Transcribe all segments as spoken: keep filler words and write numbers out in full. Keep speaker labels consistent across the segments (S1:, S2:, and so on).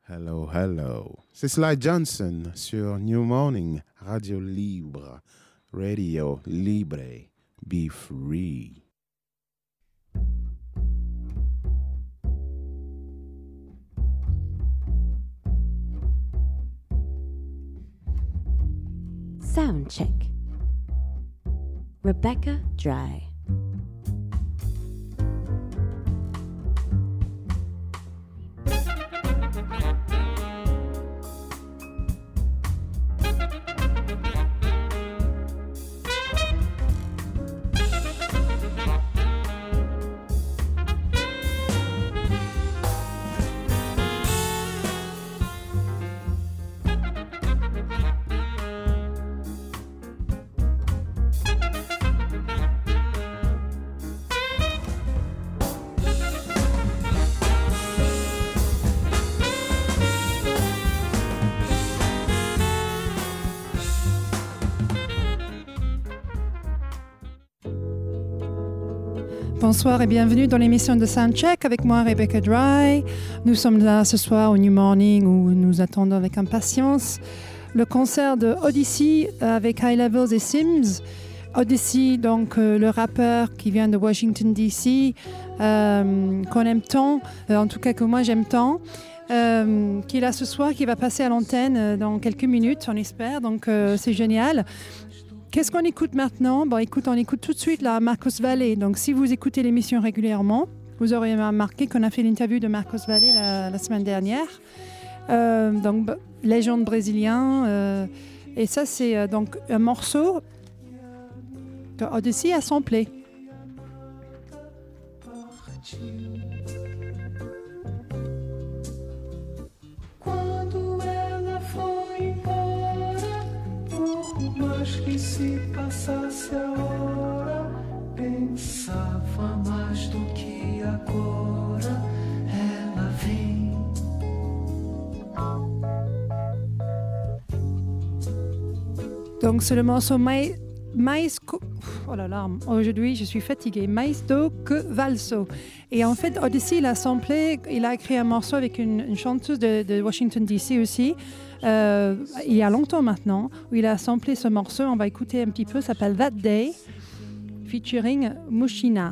S1: Hello, hello. C'est Sly Johnson sur New Morning, Radio Libre, Radio Libre, be free.
S2: Sound check. Rebecca Dry.
S3: Bonsoir et bienvenue dans l'émission de Soundcheck avec moi, Rebecca Dry. Nous sommes là ce soir au New Morning où nous attendons avec impatience le concert de Odyssey avec High Levels et Sims. Odyssey, donc euh, le rappeur qui vient de Washington D C, euh, qu'on aime tant, euh, en tout cas que moi j'aime tant, euh, qui est là ce soir, qui va passer à l'antenne euh, dans quelques minutes, on espère, donc euh, c'est génial. Qu'est-ce qu'on écoute maintenant? Bon, écoute, on écoute tout de suite la Marcos Valle. Donc, si vous écoutez l'émission régulièrement, vous aurez remarqué qu'on a fait l'interview de Marcos Valle la, la semaine dernière. Euh, donc, b- légende brésilien. Euh, et ça, c'est euh, donc un morceau que Odyssey a samplé.
S4: Que se passasse a hora, pensava mais do que agora ela vem.
S3: Donc c'est le morceau Mais, Mais oh là là, aujourd'hui je suis fatiguée. Mais do que Valso. Et en fait, Odyssey, il a samplé, il a créé un morceau avec une, une chanteuse de, de Washington D C aussi. Euh, il y a longtemps maintenant, où il a samplé ce morceau. On va écouter un petit peu, ça s'appelle That Day, featuring Mushina.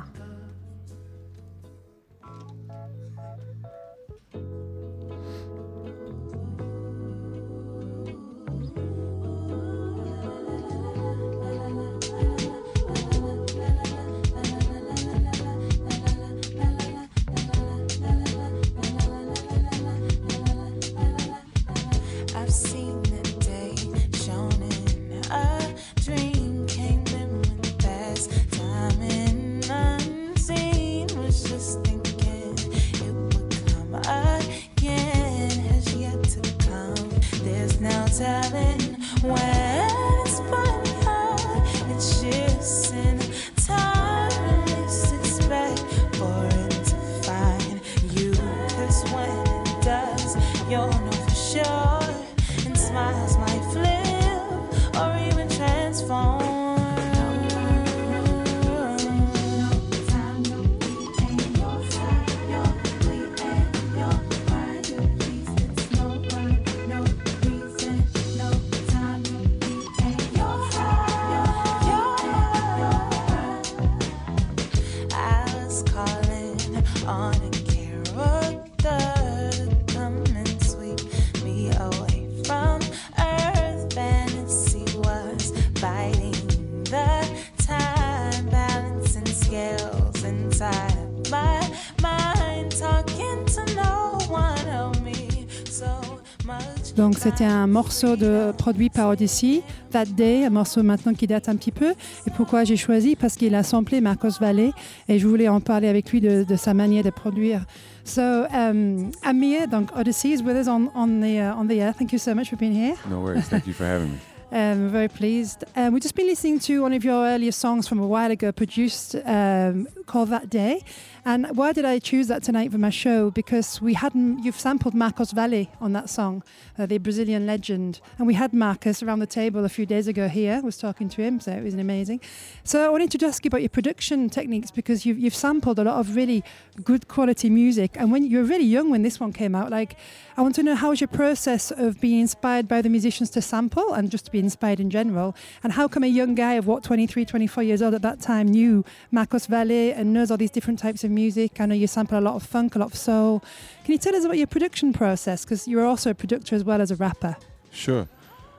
S3: Donc c'était un morceau de, produit par Odyssey, That Day, un morceau maintenant qui date un petit peu. Et pourquoi j'ai choisi? Parce qu'il a samplé Marcos Valle et je voulais en parler avec lui de, de sa manière de produire. So um, Amir, donc Odyssey is with us on, on, the, uh, on the air. Thank you so much for being here.
S1: No worries, thank you for having me.
S3: Um, very pleased. Um, we've just been listening to one of your earlier songs from a while ago, produced um, called That Day. And why did I choose that tonight for my show? Because we hadn't, you've sampled Marcos Valle on that song, uh, the Brazilian legend. And we had Marcos around the table a few days ago here. I was talking to him, so it was amazing. So I wanted to just ask you about your production techniques, because you've, you've sampled a lot of really good quality music. And when you were really young when this one came out, like, I want to know, how was your process of being inspired by the musicians to sample and just to be inspired in general? And how come a young guy of what, twenty-three, twenty-four years old at that time knew Marcos Valle and knows all these different types of music? I know you sample a lot of funk, a lot of soul. Can you tell us about your production process? Because you're also a producer as well as a rapper.
S5: Sure.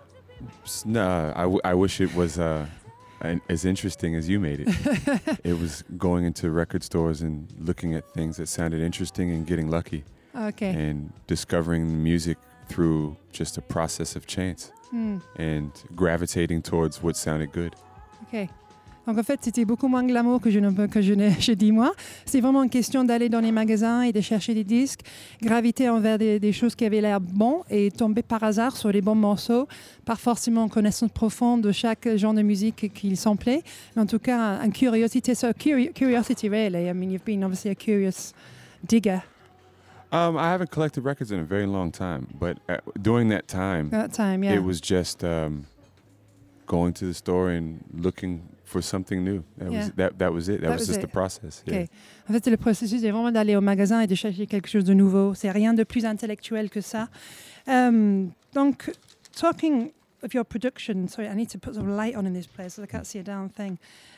S5: No, I, w- I wish it was uh, an, as interesting as you made it. It was going into record stores and looking at things that sounded interesting and getting lucky.
S3: Okay.
S5: And discovering music through just a process of chance
S3: Mm.
S5: and gravitating towards what sounded good.
S3: Ok. Donc en fait, c'était beaucoup moins glamour que je ne que je n'ai je dis moi. C'est vraiment une question d'aller dans les magasins et de chercher des disques, graviter envers des, des choses qui avaient l'air bon et tomber par hasard sur les bons morceaux, pas forcément en connaissance profonde de chaque genre de musique qu'il samplait, mais en tout cas, une curiosité. So curi- curiosity, really. I mean, you've been obviously a curious digger.
S5: Um, I haven't collected records in a very long time, but uh, during that time,
S3: At that time, yeah.
S5: it was just um, going to the store and looking for something new. That
S3: Yeah.
S5: was that. That was it. That,
S3: That
S5: was,
S3: was
S5: just
S3: it.
S5: the process.
S3: Ok.
S5: Yeah.
S3: En fait, c'est le processus, c'est vraiment d'aller au magasin et de chercher quelque chose de nouveau. C'est rien de plus intellectuel que ça. Um, donc, talking of your production, sorry, I need to put some light on in this place, so I can't see a damn thing.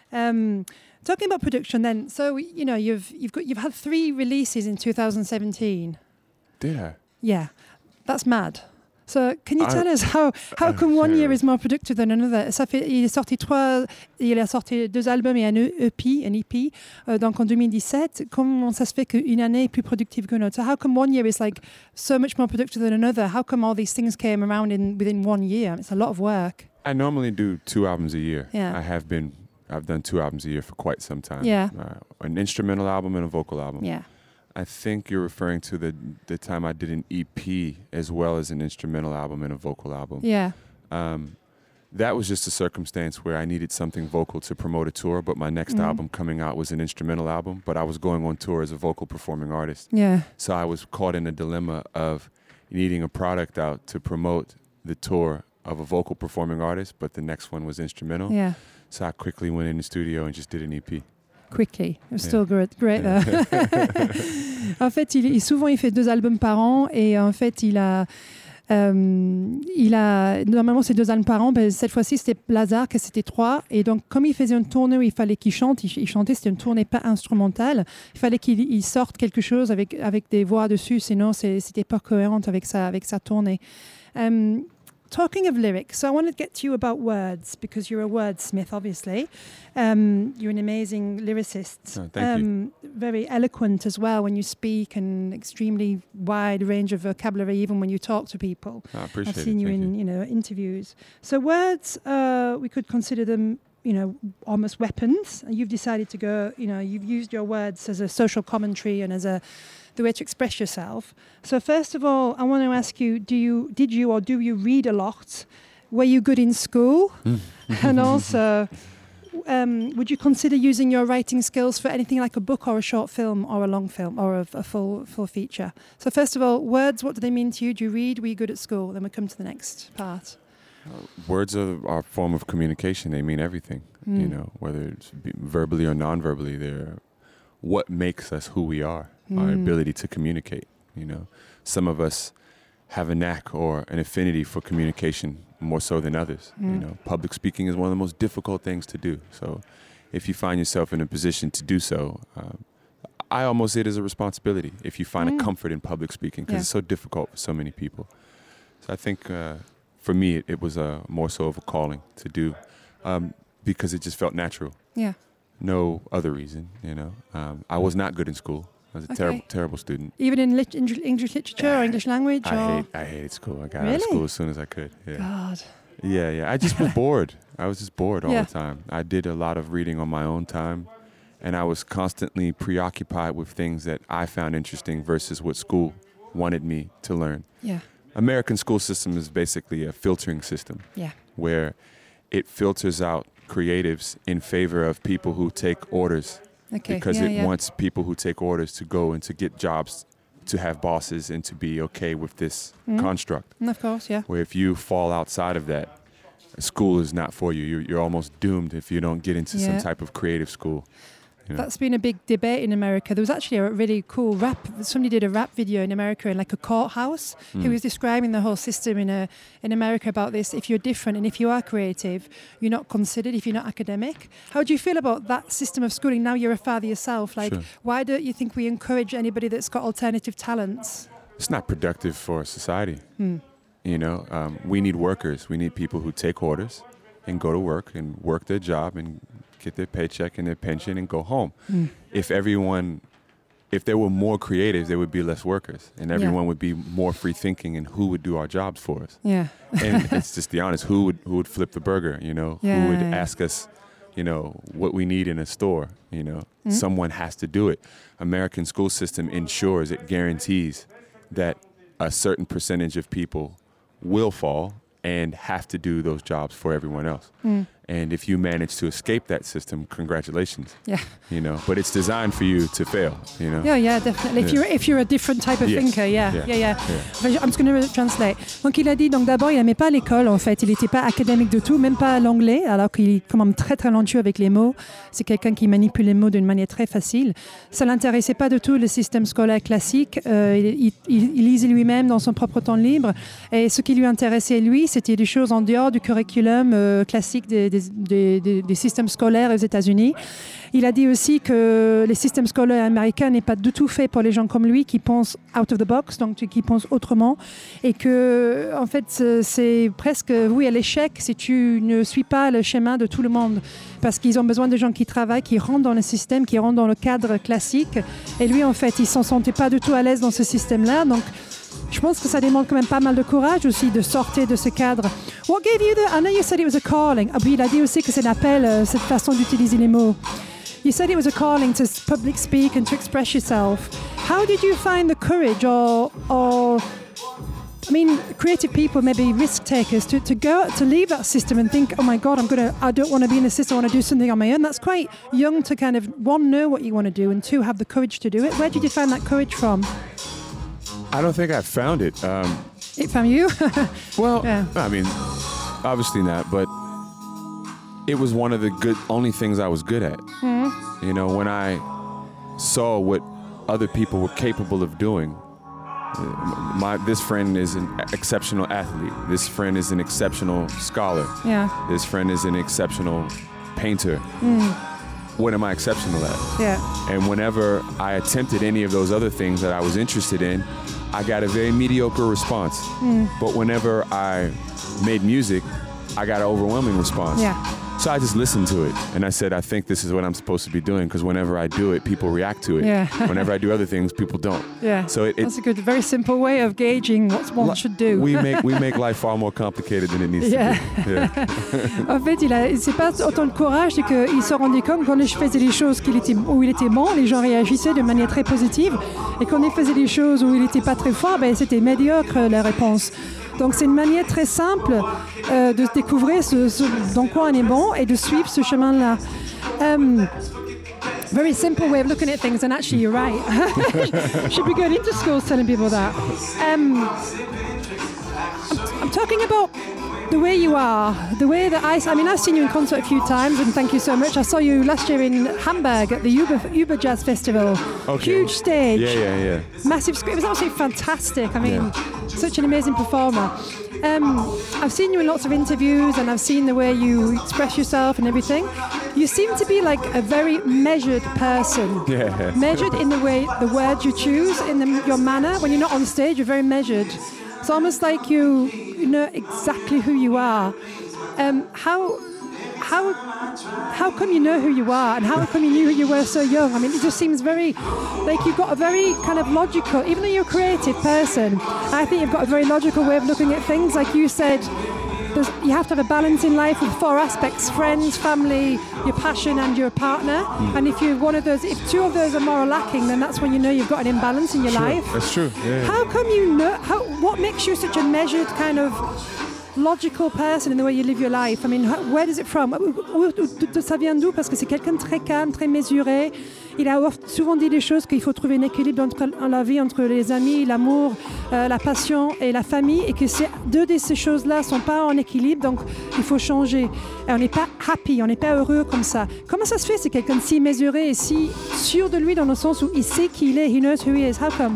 S3: Um, talking about production, then, so you know, you've you've got you've had three releases in two thousand seventeen.
S5: Did I?
S3: Yeah, that's mad. So, can you
S5: I-
S3: tell us how how come one year
S5: yeah.
S3: is more productive than another? Ça fait, il est sorti trois, il a sorti deux albums et un E P, un E P, euh, donc en deux mille dix-sept. Comment ça se fait qu'une année est plus productive qu'une autre? So, how come one year is like so much more productive than another? How come all these things came around in within one year? It's a lot of work.
S5: I normally do two albums a year.
S3: Yeah.
S5: I have been. I've done two albums a year for quite some time.
S3: Yeah.
S5: Uh, an instrumental album and a vocal album.
S3: Yeah.
S5: I think you're referring to the the time I did an E P as well as an instrumental album and a vocal album.
S3: Yeah.
S5: Um, that was just a circumstance where I needed something vocal to promote a tour, but my next
S3: Mhm.
S5: album coming out was an instrumental album, but I was going on tour as a vocal performing artist.
S3: Yeah.
S5: So I was caught in a dilemma of needing a product out to promote the tour of a vocal performing artist, but the next one was instrumental.
S3: Yeah.
S5: So I quickly went in the studio and just did an E P.
S3: Quickly. It was
S5: Yeah.
S3: still great. great though. En fait, il, il- souvent, il fait deux albums par an et en fait, il a... euh, il a normalement c'est deux albums par an, ben, cette fois-ci c'était Lazare que c'était trois, et donc comme il faisait une tournée où il fallait qu'il chante, il, il chantait, c'était une tournée pas instrumentale, il fallait qu'il il sorte quelque chose avec, avec des voix dessus, sinon c'est, c'était pas cohérent avec sa, avec sa tournée. Um, Talking of lyrics, so I want to get to you about words, because you're a wordsmith, obviously. Um, you're an amazing lyricist.
S5: Oh, thank you.
S3: um, Very eloquent as well when you speak, and extremely wide range of vocabulary, even when you talk to people.
S5: I appreciate
S3: I've seen
S5: it.
S3: you
S5: Thank
S3: in, you know, interviews. So words, uh, we could consider them, you know, almost weapons. And you've decided to go, you know, you've used your words as a social commentary and as a the way to express yourself. So first of all, I want to ask you: Do you, did you, or do you read a lot? Were you good in school? And also, um, would you consider using your writing skills for anything like a book or a short film or a long film or a, a full full feature? So first of all, words. What do they mean to you? Do you read? Were you good at school? Then we come to the next part.
S5: Words are our form of communication. They mean everything, you
S3: Mm.
S5: know, whether it's be- verbally or non-verbally. They're what makes us who we are, our
S3: Mm.
S5: ability to communicate, you know. Some of us have a knack or an affinity for communication more so than others, you
S3: Mm.
S5: know. Public speaking is one of the most difficult things to do. So if you find yourself in a position to do so, um, I almost see it as a responsibility if you find
S3: Mm.
S5: a comfort in public speaking, because
S3: Yeah.
S5: it's so difficult for so many people. So I think uh, for me, it, it was a more so of a calling to do, um, because it just felt natural.
S3: Yeah.
S5: No other reason, you know. Um, I was not good in school. I was a
S3: Okay.
S5: terrible, terrible student.
S3: Even in lit- Eng- English literature or English language?
S5: I
S3: or?
S5: hate, I hated school. I got out
S3: Really?
S5: of school as soon as I could. Yeah,
S3: God.
S5: yeah, yeah. I just was bored. I was just bored all
S3: Yeah.
S5: the time. I did a lot of reading on my own time, and I was constantly preoccupied with things that I found interesting versus what school wanted me to learn.
S3: Yeah.
S5: American school system is basically a filtering system.
S3: Yeah.
S5: where it filters out creatives in favor of people who take orders.
S3: Okay.
S5: Because
S3: yeah,
S5: it
S3: yeah.
S5: wants people who take orders to go and to get jobs, to have bosses, and to be okay with this
S3: Mm.
S5: construct.
S3: Of course, yeah.
S5: Where if you fall outside of that, school is not for you. You're, you're almost doomed if you don't get into
S3: Yeah.
S5: some type of creative school. You know?
S3: That's been a big debate in America. There was actually a really cool rap. Somebody did a rap video in America in like a courthouse.
S5: Mm.
S3: He was describing the whole system in a, in America about this. If you're different and if you are creative, you're not considered if you're not academic. How do you feel about that system of schooling? Now you're a father yourself. Like,
S5: Sure.
S3: why don't you think we encourage anybody that's got alternative talents?
S5: It's not productive for society.
S3: Mm.
S5: You know, um, we need workers. We need people who take orders and go to work and work their job and get their paycheck and their pension and go home.
S3: Mm.
S5: If everyone, if there were more creatives, there would be less workers, and everyone
S3: Yeah.
S5: would be more free thinking. And who would do our jobs for us?
S3: Yeah.
S5: And it's just the honest. Who would who would flip the burger? You know,
S3: Yeah,
S5: who would
S3: yeah.
S5: ask us, you know, what we need in a store? You know,
S3: Mm.
S5: someone has to do it. American school system ensures, it guarantees that a certain percentage of people will fall and have to do those jobs for everyone else.
S3: Mm.
S5: And if you manage to escape that system, congratulations.
S3: Yeah.
S5: You know, but it's designed for you to fail, you know.
S3: Yeah, yeah, definitely. If
S5: Yeah.
S3: you're if you're a different type of
S5: Yes.
S3: thinker, yeah,
S5: Yeah.
S3: yeah, yeah.
S5: Yeah.
S3: Enfin, I'm just going to translate. Donc il a dit donc d'abord il n'aimait pas l'école en fait, il n'était pas académique du tout, même pas l'anglais, alors qu'il est quand même très très talentueux avec les mots. C'est quelqu'un qui manipule les mots d'une manière très facile. Ça l'intéressait pas du tout le système scolaire classique. Euh, il, il, il lisait lui-même dans son propre temps libre. Et ce qui lui intéressait lui, c'était des choses en dehors du curriculum euh, classique des, des, des, des, des systèmes scolaires aux États-Unis. Il a dit aussi que les systèmes scolaires américains n'est pas du tout fait pour les gens comme lui qui pensent out of the box, donc qui pensent autrement, et que en fait c'est presque oui à l'échec si tu ne suis pas le schéma de tout le monde, parce qu'ils ont besoin de gens qui travaillent, qui rentrent dans le système, qui rentrent dans le cadre classique. Et lui en fait il s'en sentait pas du tout à l'aise dans ce système-là, donc je pense que ça demande quand même pas mal de courage aussi de sortir de ce cadre. What gave you the... I know you said it was a calling. Ah oui, il a dit aussi que c'est l'appel, euh, cette façon d'utiliser les mots. You said it was a calling to public speak and to express yourself. How did you find the courage or... or I mean, creative people, maybe risk takers, to, to go to leave that system and think, oh my God, I'm gonna, I don't want to be in the system. I want to do something on my own. That's quite young to kind of one know what you want to do and two have the courage to do it. Where did you find that courage from?
S5: I don't think I found it. Um,
S3: It from you?
S5: well,
S3: Yeah.
S5: I mean, obviously not, but it was one of the good only things I was good at.
S3: Mm-hmm.
S5: You know, when I saw what other people were capable of doing. uh, My this friend is an exceptional athlete. This friend is an exceptional scholar.
S3: Yeah.
S5: This friend is an exceptional painter. What am I exceptional at?
S3: Yeah.
S5: And whenever I attempted any of those other things that I was interested in, I got a very mediocre response. But whenever I made music, I got an overwhelming response.
S3: Yeah.
S5: So I just listened to it, and I said, I think this is what I'm supposed to be doing, because whenever I do it, people react to it.
S3: Yeah.
S5: Whenever I do other things, people don't.
S3: Yeah.
S5: So it, it
S3: That's a good, very simple way of gauging what one should do.
S5: we make we make life far more complicated than it needs
S3: Yeah.
S5: to be. Yeah.
S3: En fait, il a, c'est pas autant le courage, c'est qu'il se rendait compte quand je faisais des choses qu'il était, où il était bon, les gens réagissaient de manière très positive. Et quand il faisait des choses où il n'était pas très fort, ben, c'était médiocre la réponse. Donc c'est une manière très simple euh, de découvrir ce, ce, dans quoi on est bon et de suivre ce chemin-là. Um, very simple way of looking at things, and actually you're right. Should be going into schools telling people that. Um, I'm, I'm talking about the way you are, the way that I, I mean, I've seen you in concert a few times, and thank you so much. I saw you last year in Hamburg at the Uber, Uber Jazz Festival.
S5: Okay.
S3: Huge stage.
S5: Yeah, yeah, yeah.
S3: Massive screen. It was absolutely fantastic. I mean,
S5: Yeah.
S3: such an amazing performer. Um, I've seen you in lots of interviews, and I've seen the way you express yourself and everything. You seem to be like a very measured person.
S5: Yeah.
S3: Measured in the way, the words you choose, in the, your manner. When you're not on stage, you're very measured. It's almost like you, you know exactly who you are. Um, how, how, how come you know who you are, and how come you knew who you were so young? I mean, it just seems very, like you've got a very kind of logical, even though you're a creative person, I think you've got a very logical way of looking at things. Like you said, there's, you have to have a balance in life with four aspects: friends, family, your passion, and your partner.
S5: Mm.
S3: And if you're one of those, if two of those are more lacking, then that's when you know you've got an imbalance in your
S5: Sure,
S3: life.
S5: that's true. Yeah.
S3: How come you know? How? What makes you such a measured kind of logical person in the way you live your life. I mean, how, where does it from? Où, où, où, ça vient d'où? Parce que c'est quelqu'un de très calme, très mesuré. Il a souvent dit des choses qu'il faut trouver un équilibre entre la vie, entre les amis, l'amour, euh, la passion et la famille, et que c'est, deux de ces choses-là ne sont pas en équilibre, donc il faut changer. Et on n'est pas happy, on n'est pas heureux comme ça. Comment ça se fait? C'est quelqu'un de si mesuré et si sûr de lui dans le sens où il sait qui il est, he knows who he is. How come?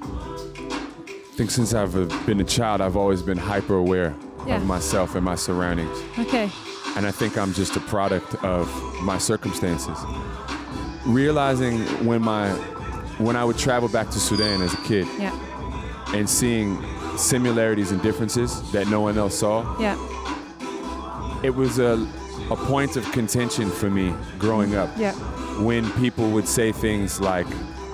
S5: I think since I've uh, been a child, I've always been hyper aware
S3: Yeah.
S5: of myself and my surroundings.
S3: Okay.
S5: And I think I'm just a product of my circumstances. Realizing when my when I would travel back to Sudan as a kid
S3: Yeah.
S5: and seeing similarities and differences that no one else saw,
S3: Yeah.
S5: it was a, a point of contention for me growing up.
S3: Yeah.
S5: When people would say things like,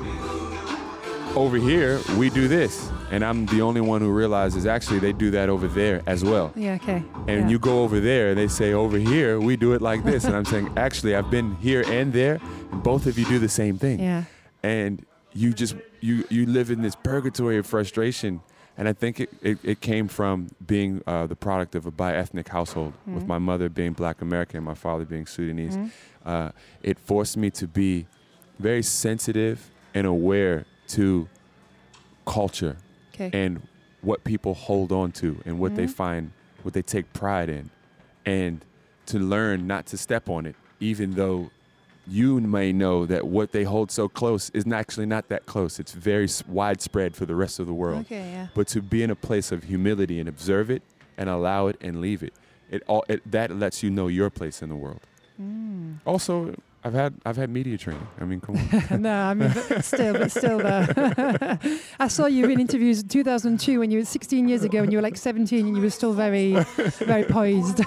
S5: over here, we do this. And I'm the only one who realizes actually they do that over there as well.
S3: Yeah, okay.
S5: And
S3: yeah.
S5: you go over there, they say, over here, we do it like this. And I'm saying, actually, I've been here and there, and both of you do the same thing.
S3: Yeah.
S5: And you just, you, you live in this purgatory of frustration. And I think it, it, it came from being uh, the product of a bi-ethnic household, mm-hmm. with my mother being Black American and my father being Sudanese. Mm-hmm. Uh, it forced me to be very sensitive and aware to culture. Okay. And what people hold on to and what mm-hmm. they find, what they take pride in, and to learn not to step on it, even though you may know that what they hold so close is actually not that close. It's very s- widespread for the rest of the world.
S3: Okay, yeah.
S5: But to be in a place of humility and observe it and allow it and leave it, it all it, that lets you know your place in the world. Mm. Also, I've had I've had media training. I mean, come on.
S3: No, I mean, but still, but still, uh, I saw you in interviews in two thousand two when you were sixteen years ago, and you were like seventeen, and you were still very, very poised.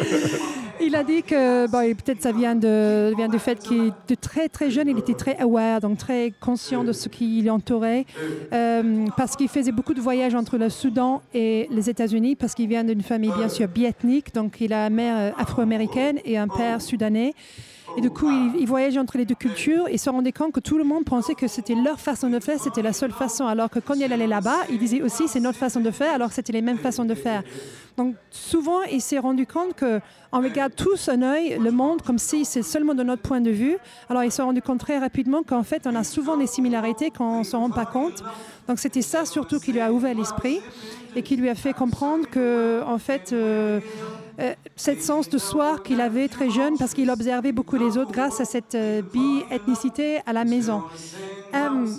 S3: Il a dit que bon, peut-être ça vient de vient du fait qu'il de très très jeune, il était très aware, donc très conscient de ce qui l'entourait, euh, parce qu'il faisait beaucoup de voyages entre le Soudan et les États-Unis, parce qu'il vient d'une famille bien sûr biethnique, donc il a une mère afro-américaine et un père sudanais. Et du coup, il, il voyageait entre les deux cultures et se rendait compte que tout le monde pensait que c'était leur façon de faire, c'était la seule façon. Alors que quand il allait là-bas, il disait aussi c'est notre façon de faire, alors que c'était les mêmes façons de faire. Donc souvent, il s'est rendu compte qu'on regarde tous un œil le monde comme si c'est seulement de notre point de vue. Alors il s'est rendu compte très rapidement qu'en fait, on a souvent des similarités quand on ne s'en rend pas compte. Donc c'était ça surtout qui lui a ouvert l'esprit et qui lui a fait comprendre que, en fait, euh, euh, cette sens de soi qu'il avait très jeune, parce qu'il observait beaucoup les autres grâce à cette euh, bi-ethnicité à la maison. Um,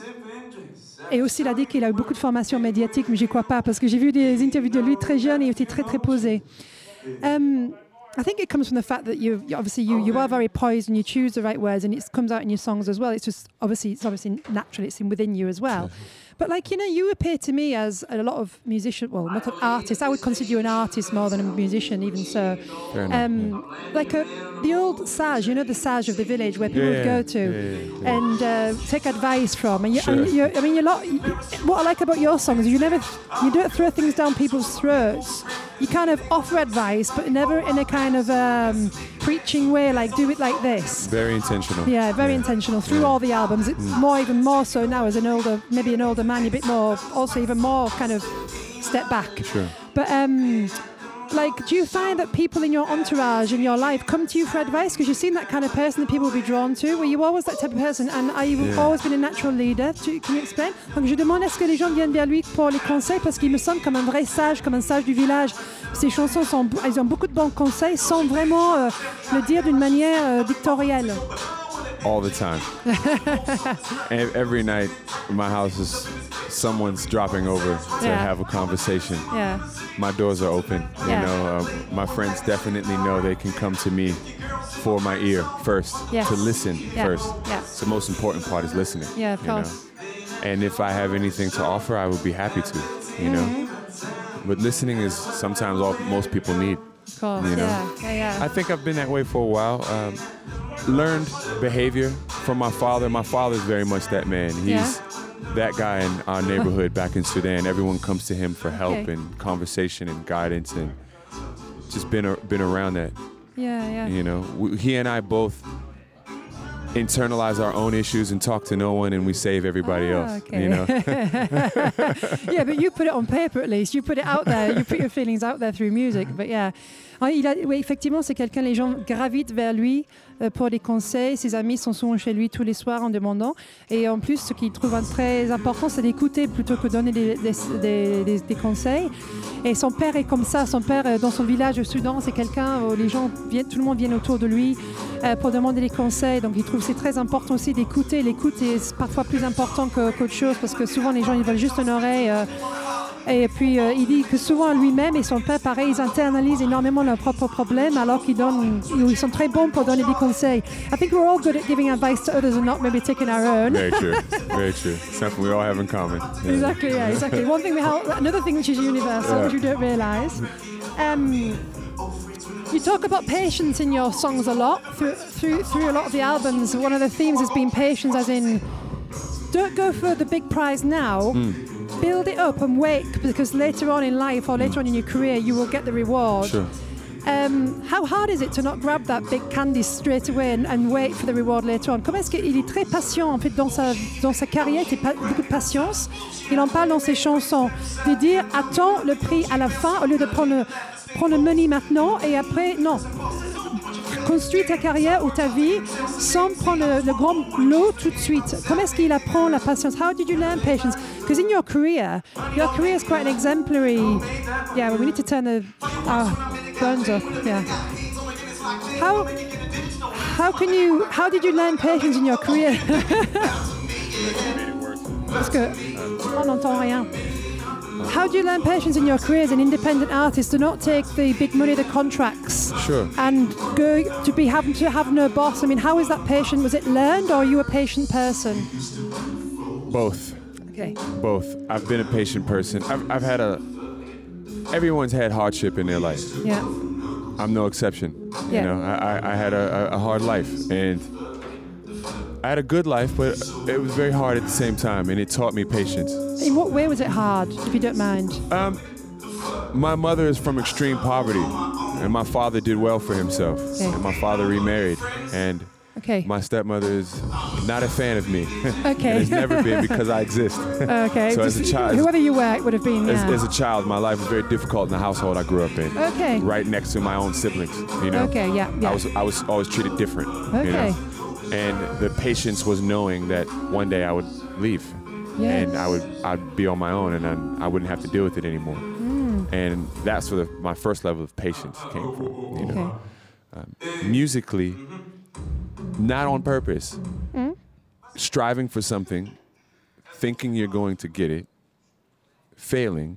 S3: Et aussi, il a dit qu'il a eu beaucoup de formations médiatiques, mais je n'y crois pas, parce que j'ai vu des interviews de lui très jeune et il était très, très posé. Um, I think it comes from the fact that you, you obviously you, you are very poised and you choose the right words, and it comes out in your songs as well. It's just obviously it's obviously natural. It's in within you as well. But like, you know, you appear to me as a lot of musicians, well, not an artist. I would consider you an artist more than a musician, even so.
S5: Fair enough,
S3: um,
S5: yeah.
S3: Like a, the old sage, you know, the sage of the village where people
S5: yeah,
S3: would go to
S5: yeah, yeah, yeah.
S3: and uh, take advice from. And, you,
S5: Sure.
S3: and you, I mean, you're lot, you, what I like about your songs is you never, you don't throw things down people's throats. You kind of offer advice, but never in a kind of um, preaching way, like do it like this.
S5: Very intentional.
S3: Yeah, very
S5: yeah.
S3: intentional through
S5: Yeah.
S3: all the albums. It's
S5: Mm.
S3: more, even more so now as an older, maybe an older man, you're a bit more, also even more kind of step back.
S5: Sure.
S3: But um, like, do you find that people in your entourage, in your life, come to you for advice? Because you seem that kind of person that people will be drawn to. Were you always that type of person? And are you
S5: Yeah.
S3: always been a natural leader? Do, can you explain? Donc je demande est-ce que les gens viennent vers lui pour les conseils, parce qu'il me semble comme un vrai sage, comme un sage du village. Ses chansons sont, elles ont beaucoup de bons conseils, sans vraiment euh, le dire d'une manière euh, dictatoriale.
S5: All the time. And every night, my house is someone's dropping over to
S3: Yeah.
S5: have a conversation.
S3: Yeah.
S5: My doors are open.
S3: Yeah.
S5: You know, uh, my friends definitely know they can come to me for my ear first,
S3: Yes.
S5: to listen
S3: Yeah.
S5: first.
S3: Yeah.
S5: So the most important part is listening.
S3: Yeah, of
S5: you
S3: course.
S5: know? And if I have anything to offer, I would be happy to. You know,
S3: Mm-hmm.
S5: but listening is sometimes all most people need.
S3: Of course,
S5: You know?
S3: yeah, yeah, yeah.
S5: I think I've been that way for a while. Um, learned behavior from my father. My father's very much that man. He's
S3: Yeah.
S5: that guy in our neighborhood back in Sudan. Everyone comes to him for help
S3: Okay.
S5: and conversation and guidance, and just been a, been around that.
S3: Yeah, yeah.
S5: You know, we, he and I both internalize our own issues and talk to no one, and we save everybody
S3: Ah,
S5: else.
S3: okay.
S5: You know.
S3: Yeah, but you put it on paper at least. You put it out there. You put your feelings out there through music. But yeah. Ah, il a, oui, effectivement, c'est quelqu'un, les gens gravitent vers lui euh, pour des conseils. Ses amis sont souvent chez lui tous les soirs en demandant. Et en plus, ce qu'il trouve très important, c'est d'écouter plutôt que de donner des, des, des, des, des conseils. Et son père est comme ça. Son père, euh, dans son village au Soudan, c'est quelqu'un où les gens viennent, tout le monde vient autour de lui euh, pour demander des conseils. Donc, il trouve que c'est très important aussi d'écouter. L'écoute est parfois plus important que, qu'autre chose parce que souvent, les gens, ils veulent juste une oreille. Euh, Et puis, euh, il dit que souvent lui-même et son père, pareil, ils internalisent énormément leurs propres problèmes alors qu'ils donnent, ils sont très bons pour donner des conseils. I think we're all good at giving advice to others and not maybe taking our own.
S5: Very true. Very true. Something we all have in common. Yeah.
S3: Exactly, yeah, exactly. One thing we have, another thing which is universal,
S5: Yeah.
S3: which you don't realise. Um, you talk about patience in your songs a lot, through, through, through a lot of the albums. One of the themes has been patience, as in, don't go for the big prize now.
S5: Mm.
S3: Build it up and wait, because later on in life or later on in your career, you will get the reward.
S5: Sure.
S3: Um, how hard is it to not grab that big candy straight away and, and wait for the reward later on? Comment est-ce qu'il est très patient en fait dans sa, dans sa carrière, il a beaucoup de patience. Il en parle dans ses chansons, de dire attends le prix à la fin au lieu de prendre le, prendre le money maintenant et après, non. Construis ta carrière ou ta vie sans prendre le, le grand lot tout de suite. Comment est-ce qu'il apprend la patience? How did you learn patience? Because in your career, your career is quite an exemplary. Yeah, well, we need to turn the our phones off. Yeah. How how can you? How did you learn patience in your career? Parce que on n'entend rien. How do you learn patience in your career as an independent artist to not take the big money, the contracts,
S5: Sure.
S3: and go to be having to have no boss? I mean, how is that patient? Was it learned, or are you a patient person?
S5: Both.
S3: Okay.
S5: Both. I've been a patient person. I've, I've had a. Everyone's had hardship in their life.
S3: Yeah.
S5: I'm no exception. You
S3: Yeah.
S5: know, I, I, I had a, a hard life, and I had a good life, but it was very hard at the same time, and it taught me patience.
S3: In what way was it hard, if you don't mind?
S5: Um, my mother is from extreme poverty, and my father did well for himself.
S3: Okay.
S5: And my father remarried, and
S3: Okay.
S5: my stepmother is not a fan of me.
S3: Okay.
S5: And has never been because I exist.
S3: Okay.
S5: So as a
S3: Just-
S5: child-
S3: whoever you were, it would have been.
S5: As,
S3: Yeah.
S5: as a child, my life was very difficult in the household I grew up in.
S3: Okay.
S5: Right next to my own siblings, you know.
S3: Okay. Yeah. Yeah.
S5: I was I was always treated different.
S3: Okay.
S5: You know? And the patience was knowing that one day I would leave,
S3: Yes.
S5: and I would I'd be on my own, and then I wouldn't have to deal with it anymore.
S3: Mm.
S5: And that's where the, my first level of patience came from. You know,
S3: Okay.
S5: um, musically, not on purpose,
S3: Mm.
S5: striving for something, thinking you're going to get it, failing,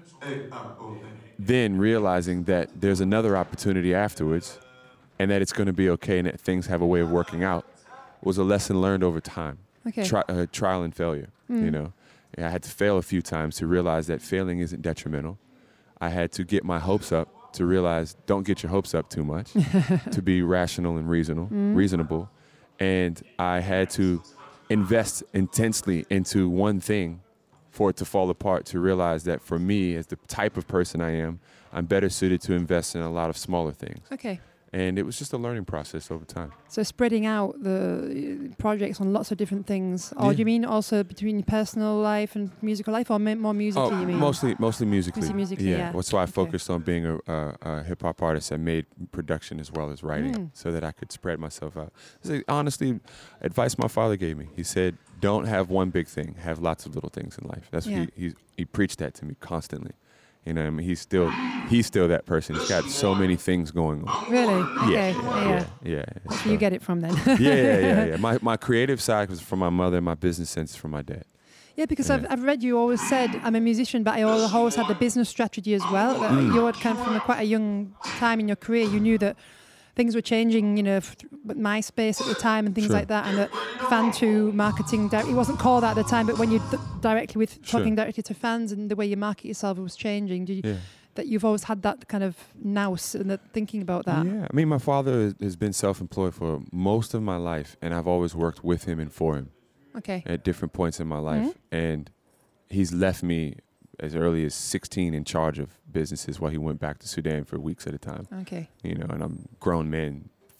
S5: then realizing that there's another opportunity afterwards, and that it's going to be okay, and that things have a way of working out, was a lesson learned over time.
S3: Okay.
S5: Tri- uh, trial and failure, you know. I had to fail a few times to realize that failing isn't detrimental. I had to get my hopes up to realize don't get your hopes up too much, to be rational and reasonable, reasonable. And I had to invest intensely into one thing for it to fall apart, to realize that for me, as the type of person I am, I'm better suited to invest in a lot of smaller things.
S3: Okay.
S5: And it was just a learning process over time.
S3: So spreading out the uh, projects on lots of different things. Or
S5: Yeah.
S3: do you mean also between your personal life and musical life, or ma- more musically?
S5: Oh,
S3: you mean?
S5: mostly, mostly musically.
S3: Mostly musically, yeah.
S5: That's why I
S3: Okay.
S5: focused on being a, a, a hip hop artist and made production as well as writing,
S3: Mm.
S5: so that I could spread myself out. So honestly, advice my father gave me. He said, "Don't have one big thing. Have lots of little things in life." That's
S3: Yeah.
S5: what he, he he preached that to me constantly. You know, I mean, he's still he's still that person. He's got so many things going on.
S3: Really?
S5: Yeah,
S3: Okay. Yeah.
S5: yeah, yeah.
S3: That's where you get it from then.
S5: yeah, yeah, yeah, yeah. My my creative side was from my mother. My business sense is from my dad.
S3: Yeah, because
S5: Yeah.
S3: I've, I've read you always said, I'm a musician, but I al- always had the business strategy as well. That
S5: Mm.
S3: You had kind of from a quite a young time in your career, you knew that things were changing, you know, f- with MySpace at the time and things
S5: Sure.
S3: like that, and that fan to marketing, di- it wasn't called that at the time, but when you d- directly with
S5: Sure.
S3: talking directly to fans and the way you market yourself was changing, did you,
S5: Yeah.
S3: that you've always had that kind of nous and that thinking about that.
S5: Yeah, I mean, my father has- has been self-employed for most of my life, and I've always worked with him and for him
S3: Okay.
S5: at different points in my life. And he's left me as early as sixteen in charge of businesses while he went back to Sudan for weeks at a time.
S3: Okay.
S5: You know, and I'm grown men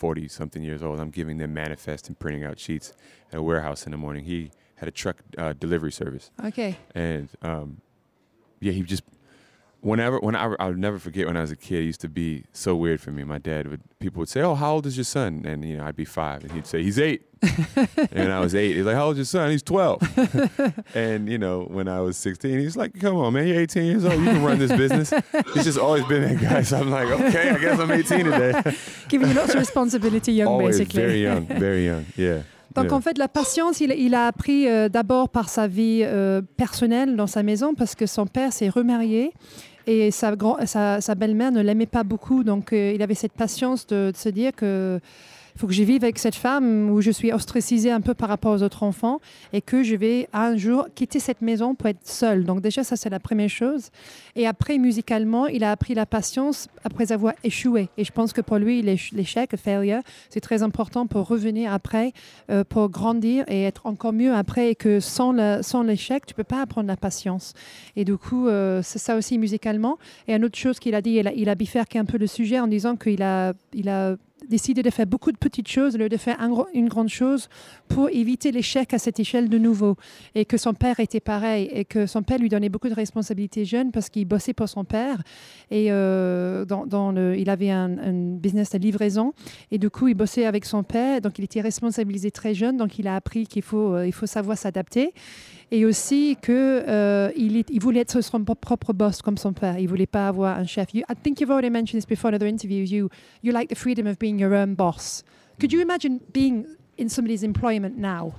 S5: forty something years old. I'm giving them manifest and printing out sheets at a warehouse in the morning. He had a truck uh, delivery service.
S3: Okay.
S5: And um, yeah, he just, whenever, when I, I'll never forget when I was a kid, it used to be so weird for me. My dad would, people would say, oh, how old is your son? And, you know, I'd be five. And he'd say, he's eight. And I was eight. He's like, how old is your son? He's twelve. And, you know, when I was sixteen, he's like, come on, man, you're eighteen years old. You can run this business. He's just always been that guy. So I'm like, okay, I guess I'm eighteen today.
S3: Giving you lots of responsibility young,
S5: Always
S3: basically.
S5: very young, very young, yeah.
S3: Donc
S5: yeah.
S3: en fait, la patience, il, il a appris euh, d'abord par sa vie euh, personnelle dans sa maison parce que son père s'est remarié et sa, grand, sa, sa belle-mère ne l'aimait pas beaucoup. Donc euh, il avait cette patience de, de se dire que il faut que je vive avec cette femme où je suis ostracisée un peu par rapport aux autres enfants et que je vais un jour quitter cette maison pour être seule. Donc déjà, ça, c'est la première chose. Et après, musicalement, il a appris la patience après avoir échoué. Et je pense que pour lui, l'échec, le failure, c'est très important pour revenir après, euh, pour grandir et être encore mieux après. Et que sans, le, sans l'échec, tu ne peux pas apprendre la patience. Et du coup, euh, c'est ça aussi musicalement. Et une autre chose qu'il a dit, il a, il a bifurqué un peu le sujet en disant qu'il a... Il a décidé de faire beaucoup de petites choses au lieu de faire un, une grande chose pour éviter l'échec à cette échelle de nouveau. Et que son père était pareil et que son père lui donnait beaucoup de responsabilités jeune parce qu'il bossait pour son père et euh, dans, dans le, il avait un, un business de livraison et du coup il bossait avec son père, donc il était responsabilisé très jeune, donc il a appris qu'il faut, euh, il faut savoir s'adapter. Et aussi qu'il euh, il voulait être son propre boss comme son père. Il ne voulait pas avoir un chef. You, I think you've already mentioned this before in other interviews. You, you like the freedom of being your own boss. Could you imagine being in somebody's employment now?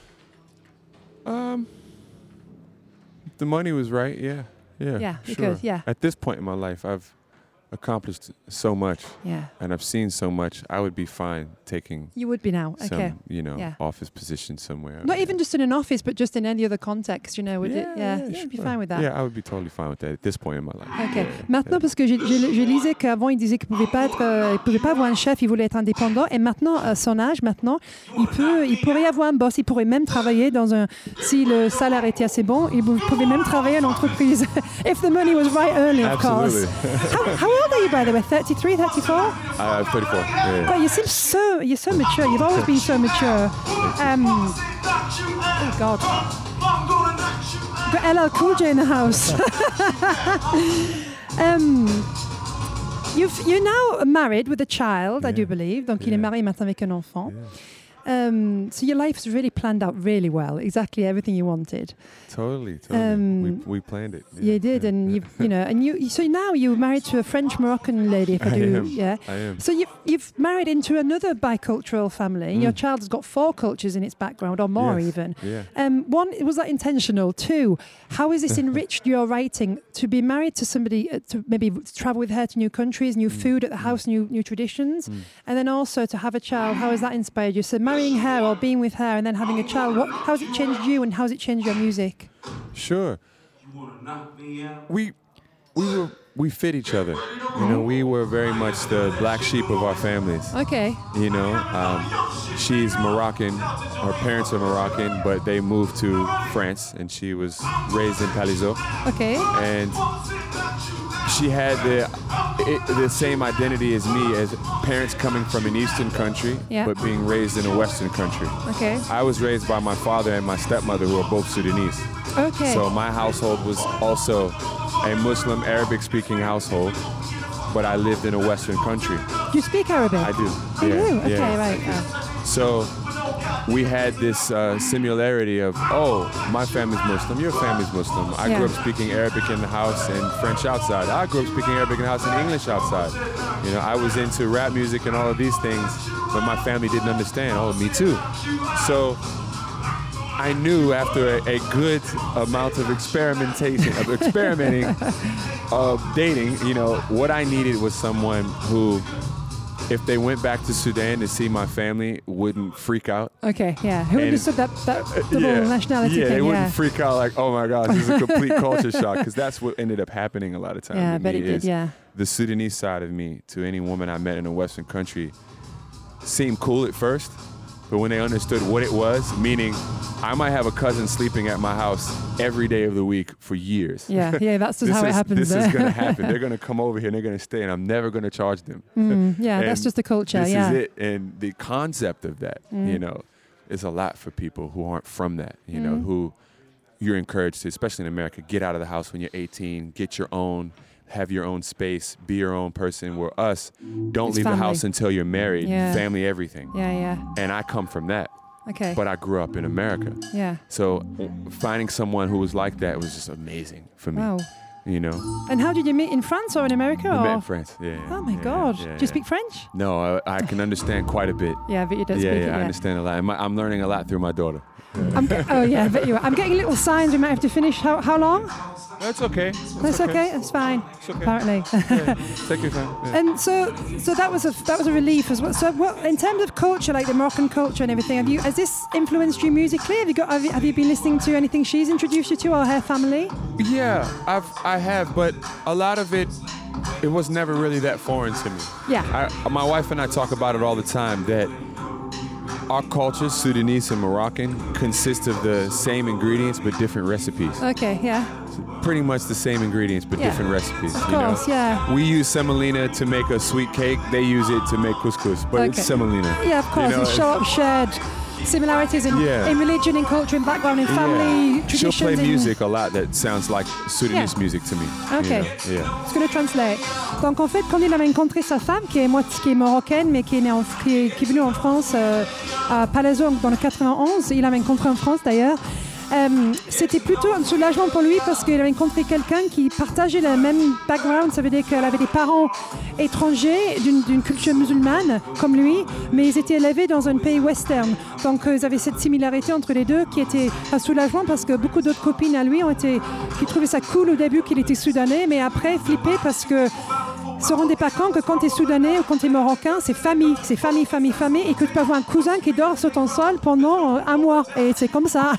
S5: Um, the money was right, yeah. Yeah,
S3: Yeah,
S5: sure.
S3: because, yeah.
S5: At this point in my life, I've accomplished so much.
S3: Yeah.
S5: And I've seen so much. I would be fine taking
S3: You would be now,
S5: some,
S3: okay.
S5: you know,
S3: Yeah.
S5: office position somewhere.
S3: Not
S5: Yeah.
S3: even just in an office, but just in any other context, you know, would
S5: yeah,
S3: it? Yeah,
S5: yeah,
S3: you'd be
S5: sure.
S3: fine with that.
S5: Yeah, I would be totally fine with that at this point in my life.
S3: Ok.
S5: Yeah,
S3: Maintenant,
S5: yeah.
S3: parce que je, je, je lisais qu'avant, il disait qu'il ne pouvait pas être, euh, il pouvait pas avoir un chef, il voulait être indépendant. Et maintenant, à son âge, maintenant, il peut, il pourrait avoir un boss. Il pourrait même travailler dans un. Si le salaire était assez bon, il pouvait même travailler en entreprise. If the money was right early, of
S5: Absolutely.
S3: course. how, how old are you, by the way? thirty-three, thirty-four?
S5: I'm thirty-four. Yeah.
S3: God, you seem so. You're so mature. You've always been so mature. Um, oh God. Got L L Cool J in the house. um, you've, you're now married with a child, I do
S5: Yeah.
S3: believe. Donc, il
S5: Yeah.
S3: est marié maintenant avec un enfant.
S5: Yeah.
S3: Um, so your life's really planned out really well. Exactly everything you wanted.
S5: Totally, totally.
S3: Um,
S5: we, we planned it.
S3: You
S5: Yeah,
S3: did,
S5: yeah,
S3: and
S5: yeah.
S3: you, you know, and you. So now you're married to a French Moroccan lady. If I,
S5: I
S3: do,
S5: am.
S3: yeah.
S5: I am.
S3: So you've you've married into another bicultural family.
S5: Mm.
S3: Your child's got four cultures in its background, or more
S5: Yes.
S3: even.
S5: Yeah.
S3: Um, one, was that intentional? Two, how has this enriched your writing to be married to somebody, uh, to maybe travel with her to new countries, new
S5: Mm.
S3: food at the house, new new traditions,
S5: Mm.
S3: and then also to have a child? How has that inspired you? So marrying her or being with her and then having a child, what, how has it changed you and how has it changed your music?
S5: Sure. We we were we fit each other. You know, we were very much the black sheep of our families.
S3: Okay.
S5: You know, um, she's Moroccan. Her parents are Moroccan, but they moved to France, and she was raised in Palaiseau.
S3: Okay.
S5: And she had the it, the same identity as me, as parents coming from an Eastern country,
S3: Yeah.
S5: but being raised in a Western country.
S3: Okay.
S5: I was raised by my father and my stepmother, who are both Sudanese.
S3: Okay.
S5: So my household was also a Muslim Arabic-speaking household, but I lived in a Western country.
S3: Do you speak Arabic?
S5: I do.
S3: Oh, you
S5: yeah,
S3: do? Okay,
S5: yeah.
S3: right. Uh,
S5: So we had this uh, similarity of, oh, my family's Muslim, your family's Muslim. I
S3: Yeah.
S5: grew up speaking Arabic in the house and French outside. I grew up speaking Arabic in the house and English outside. You know, I was into rap music and all of these things, but my family didn't understand. Oh, me too. So I knew after a, a good amount of experimentation, of experimenting, of dating, you know, what I needed was someone who, if they went back to Sudan to see my family, wouldn't freak out.
S3: okay, yeah. Who
S5: And-
S3: understood that, that double nationality
S5: yeah,
S3: thing?
S5: they wouldn't
S3: Yeah.
S5: freak out like, oh my gosh, this is a complete culture shock, because that's what ended up happening a lot of times.
S3: Yeah, I
S5: with
S3: bet
S5: me
S3: it did,
S5: is
S3: yeah.
S5: The Sudanese side of me to any woman I met in a Western country seemed cool at first, But when they understood what it was, meaning I might have a cousin sleeping at my house every day of the week for years.
S3: Yeah, yeah, that's just
S5: this
S3: how
S5: is,
S3: it happens
S5: This
S3: there.
S5: is going to happen. They're going to come over here and they're going to stay, and I'm never going to charge them.
S3: Mm, yeah,
S5: And
S3: that's just the culture.
S5: This
S3: yeah.
S5: is it. And the concept of that,
S3: Mm.
S5: you know, is a lot for people who aren't from that, you
S3: Mm.
S5: know, who you're encouraged to, especially in America, get out of the house when you're eighteen, get your own, have your own space, be your own person. Where us, don't
S3: It's
S5: leave
S3: family.
S5: the house until you're married,
S3: Yeah.
S5: family, everything.
S3: Yeah, yeah.
S5: And I come from that,
S3: Okay.
S5: but I grew up in America.
S3: yeah.
S5: So finding someone who was like that was just amazing for me,
S3: Wow.
S5: you know.
S3: And how did you meet in France or in America?
S5: We
S3: or?
S5: met in France, yeah. yeah,
S3: Oh my
S5: yeah,
S3: God!
S5: yeah,
S3: Do you
S5: yeah.
S3: speak French?
S5: No, I, I can understand quite a bit.
S3: Yeah, but you don't
S5: Yeah,
S3: speak
S5: yeah,
S3: it
S5: I
S3: yet.
S5: understand a lot. And my, I'm learning a lot through my daughter.
S3: I'm ge- oh yeah, I bet you are. I'm getting little signs. We might have to finish. How how long?
S5: That's okay.
S3: That's okay. That's fine.
S5: It's okay.
S3: Apparently.
S5: Yeah, take your time. Yeah.
S3: And so, so that was a that was a relief as well. So, what in terms of culture, like the Moroccan culture and everything, have you has this influenced you musically? Have you got have you, have you been listening to anything she's introduced you to or her family?
S5: Yeah, I've I have, but a lot of it, it was never really that foreign to me.
S3: Yeah.
S5: I, my wife and I talk about it all the time that our cultures, Sudanese and Moroccan, consist of the same ingredients but different recipes.
S3: Okay. Yeah.
S5: Pretty much the same ingredients but
S3: Yeah.
S5: different recipes.
S3: Of
S5: you know?
S3: course. Yeah.
S5: We use semolina to make a sweet cake. They use it to make couscous, but
S3: Okay.
S5: it's semolina.
S3: Yeah. Of course.
S5: You know,
S3: and show, shared similarities in,
S5: Yeah.
S3: in religion, in culture, in background, in family
S5: Yeah.
S3: traditions.
S5: She'll play
S3: in-
S5: music a lot that sounds like Sudanese
S3: Yeah.
S5: music to me. you
S3: Okay.
S5: know? Yeah.
S3: It's going to translate. Donc en fait, quand il avait rencontré sa femme, qui est, moitié, qui est marocaine, mais qui est, née en, qui est, qui est venue en France, euh, à Palaiseau dans le quatre-vingt-onze, il l'avait rencontré en France d'ailleurs, euh, c'était plutôt un soulagement pour lui parce qu'il avait rencontré quelqu'un qui partageait le même background, ça veut dire qu'elle avait des parents étrangers d'une, d'une culture musulmane comme lui, mais ils étaient élevés dans un pays western. Donc euh, ils avaient cette similarité entre les deux qui était un soulagement parce que beaucoup d'autres copines à lui ont été, qui trouvaient ça cool au début qu'il était soudanais, mais après flippé parce que se rendaient pas compte que quand tu es soudanais ou quand tu es marocain, c'est famille, c'est famille, famille, famille, et que tu peux avoir un cousin qui dort sur ton sol pendant euh, un mois. Et c'est comme ça.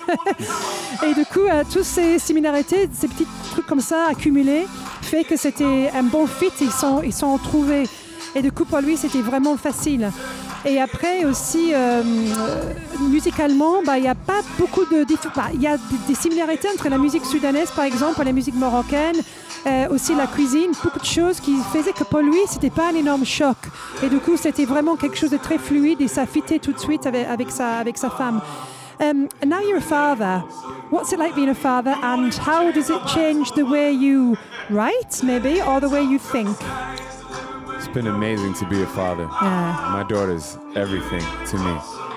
S3: Et du coup, euh, toutes ces similarités, ces petits trucs comme ça accumulés, fait que c'était un bon fit, ils sont, ils sont trouvés. Et du coup, pour lui, c'était vraiment facile. Et après aussi, euh, euh, musicalement, bah, il n'y a pas beaucoup de... diff- bah, il y a des, des similarités entre la musique sudanaise, par exemple, et la musique marocaine, euh, aussi la cuisine, beaucoup de choses qui faisaient que pour lui, c'était pas un énorme choc. Et du coup, c'était vraiment quelque chose de très fluide et ça fitait tout de suite avec, avec, sa, avec sa femme. Um, and now you're a father. What's it like being a father, and how does it change the way you write, maybe, or the way you think?
S5: It's been amazing to be a father.
S3: Yeah.
S5: My daughter's everything to me.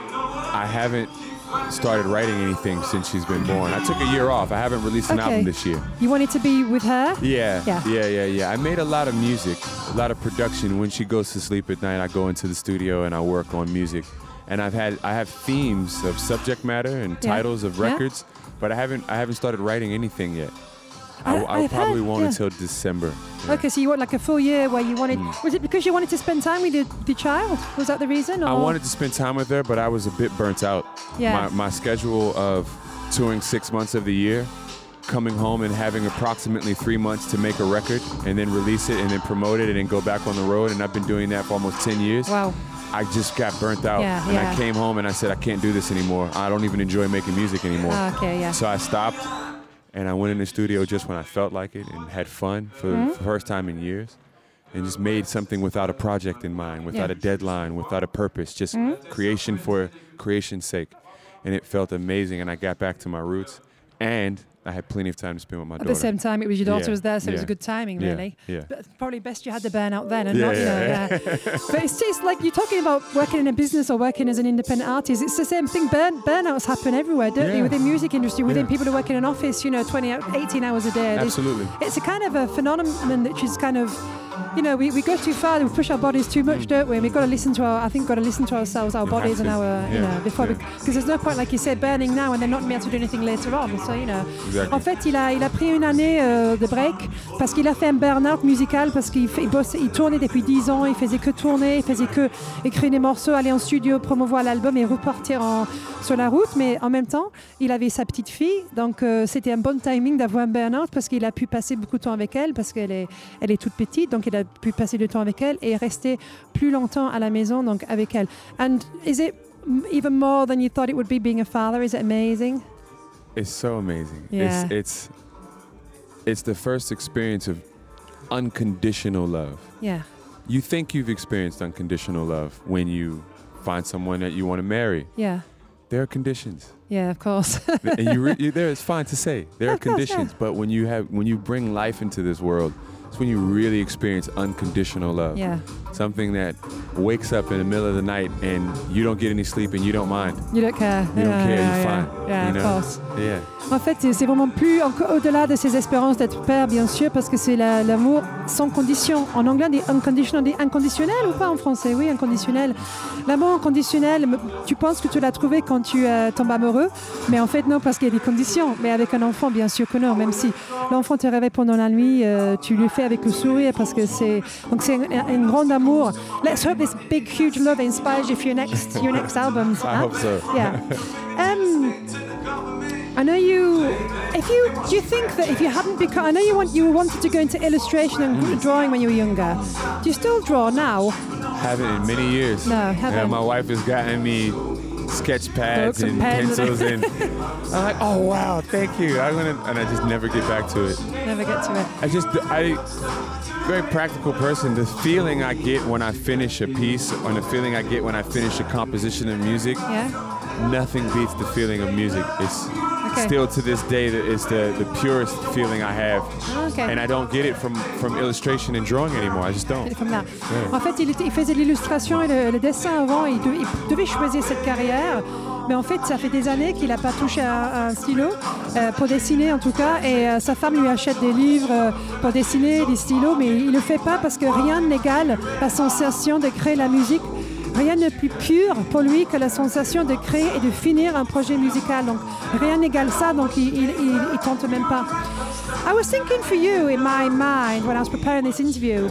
S5: I haven't started writing anything since she's been born. I took a year off. I haven't released an
S3: Okay.
S5: album this year.
S3: You wanted to be with her?
S5: Yeah,
S3: Yeah.
S5: yeah, yeah, yeah. I made a lot of music, a lot of production. When she goes to sleep at night, I go into the studio and I work on music. And I've had I have themes of subject matter and
S3: Yeah.
S5: titles of
S3: Yeah.
S5: records, but I haven't I haven't started writing anything yet.
S3: I-
S5: I, I
S3: I've
S5: probably
S3: heard-
S5: won't
S3: yeah.
S5: until December. Yeah.
S3: Okay, so you want like a full year where you wanted...
S5: Mm.
S3: Was it because you wanted to spend time with the, the child? Was that the reason? Or?
S5: I wanted to spend time with her, but I was a bit burnt out.
S3: Yeah.
S5: My, my schedule of touring six months of the year, coming home and having approximately three months to make a record and then release it and then promote it and then go back on the road. And I've been doing that for almost ten years.
S3: Wow.
S5: I just got burnt out.
S3: Yeah,
S5: and
S3: yeah.
S5: I came home and I said, I can't do this anymore. I don't even enjoy making music anymore.
S3: Ah, okay, yeah.
S5: So I stopped and I went in the studio just when I felt like it and had fun for
S3: Mm-hmm.
S5: the first time in years. And just made something without a project in mind, without
S3: Yeah.
S5: a deadline, without a purpose, just creation for creation's sake. And it felt amazing. And I got back to my roots. And I had plenty of time to spend with my
S3: At
S5: daughter.
S3: the same time, it was your daughter
S5: Yeah,
S3: was there, so it was
S5: yeah,
S3: a good timing,
S5: yeah,
S3: really.
S5: yeah.
S3: But probably best you had the burnout then, and
S5: Yeah,
S3: not, you know,
S5: yeah,
S3: yeah. But it's just like you're talking about working in a business or working as an independent artist. It's the same thing. Burn, burnouts happen everywhere, don't they?
S5: Yeah.
S3: Within music industry, within
S5: Yeah.
S3: people who work in an office, you know, twenty, eighteen hours a day. There's-
S5: Absolutely.
S3: It's a kind of a phenomenon which is kind of, you know, we, we go too far, we push our bodies too much, don't we? And we've got to listen to our, I think, got to listen to ourselves, our
S5: You
S3: bodies,
S5: have
S3: and
S5: to.
S3: our, you
S5: Yeah,
S3: know, before
S5: yeah.
S3: because there's no point, like you said, burning now and then not be able to do anything later on. So, you know.
S5: Exactly.
S3: En fait, il a, il a pris une année euh, de break parce qu'il a fait un burn-out musical parce qu'il fait- il bossait, il tournait depuis dix ans, il faisait que tourner, il faisait que écrire des morceaux, aller en studio, promouvoir l'album et repartir en, sur la route. Mais en même temps, il avait sa petite fille, donc euh, c'était un bon timing d'avoir un burn-out parce qu'il a pu passer beaucoup de temps avec elle parce qu'elle est, elle est toute petite, donc il a pu passer du temps avec elle et rester plus longtemps à la maison, donc avec elle. And is it m- even more than you thought it would be being a father? Is it amazing?
S5: It's so amazing.
S3: Yeah.
S5: It's, it's it's the first experience of unconditional love.
S3: Yeah.
S5: You think you've experienced unconditional love when you find someone that you want to marry.
S3: Yeah.
S5: There are conditions.
S3: Yeah, of course.
S5: and you, re- you there it's fine to say there
S3: Yeah,
S5: are
S3: of course,
S5: conditions,
S3: yeah.
S5: but when you have when you bring life into this world, it's when you really experience unconditional love.
S3: Yeah.
S5: Something that wakes up in the middle of the night and you don't get any sleep and you don't mind.
S3: You don't care.
S5: You don't
S3: yeah,
S5: care,
S3: yeah,
S5: you're
S3: yeah.
S5: fine.
S3: Yeah,
S5: you
S3: of
S5: know?
S3: course.
S5: Yeah.
S3: En fait, c'est c'est vraiment plus encore au-delà de ses espérances d'être père, bien sûr, parce que c'est la- l'amour sans condition. En anglais, on dit unconditional, on dit inconditionnel ou pas en français? Oui, inconditionnel. L'amour inconditionnel, m- tu penses que tu l'as trouvé quand tu euh, tombes amoureux, mais en fait non, parce qu'il y a des conditions. Mais avec un enfant, bien sûr que non, même si l'enfant te réveille pendant la nuit, euh, tu le fais avec le sourire, parce que c'est donc c'est un, un grand amour. Let's hope this big, huge love inspires you for your next your next albums.
S5: I
S3: huh?
S5: hope so.
S3: Yeah. Um, I know you. If you do you think that if you hadn't become, I know you want you wanted to go into illustration and
S5: Mm.
S3: drawing when you were younger. Do you still draw now?
S5: Haven't in many years.
S3: No,
S5: Yeah,
S3: haven't.
S5: my wife has gotten me sketch pads
S3: Books and
S5: and
S3: pens.
S5: pencils and I'm like, oh wow, thank you. I'm gonna and I just never get back to it.
S3: Never get to it.
S5: I just I very practical person. The feeling I get when I finish a piece, or the feeling I get when I finish a composition of music,
S3: Yeah.
S5: nothing beats the feeling of music. It's
S3: Okay.
S5: still to this day that it's the, the purest feeling I have.
S3: Okay.
S5: And I don't get it from, from illustration and drawing anymore. I just don't.
S3: Comme là.
S5: Yeah.
S3: En fait, il, était- il faisait de l'illustration et le, le dessin avant. Il, de- il devait choisir cette carrière. Mais en fait, ça fait des années qu'il n'a pas touché à, à un stylo, euh, pour dessiner en tout cas. Et euh, sa femme lui achète des livres euh, pour dessiner, des stylos, mais il ne le fait pas parce que rien n'égale la sensation de créer la musique. Rien de plus pur pour lui que la sensation de créer et de finir un projet musical. Donc rien n'égale ça, donc il, il, il, il tente même pas. I was thinking for you in my mind when I was preparing this interview,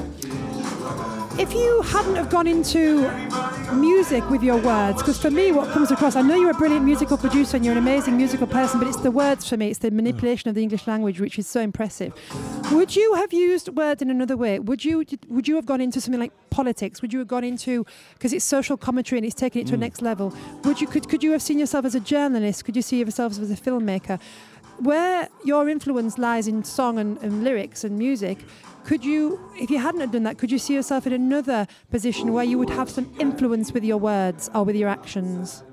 S3: if you hadn't have gone into music with your words, because for me what comes across, I know you're a brilliant musical producer and you're an amazing musical person, but it's the words for me, it's the manipulation of the English language which is so impressive. Would you have used words in another way? Would you would you have gone into something like politics? Would you have gone into, because it's social commentary and it's taken it to a next level, would you could, could you have seen yourself as a journalist? Could you see yourself as a filmmaker? Where your influence lies in song and, and lyrics and music, could you, if you hadn't have done that, could you see yourself in another position where you would have some influence with your words or with your actions?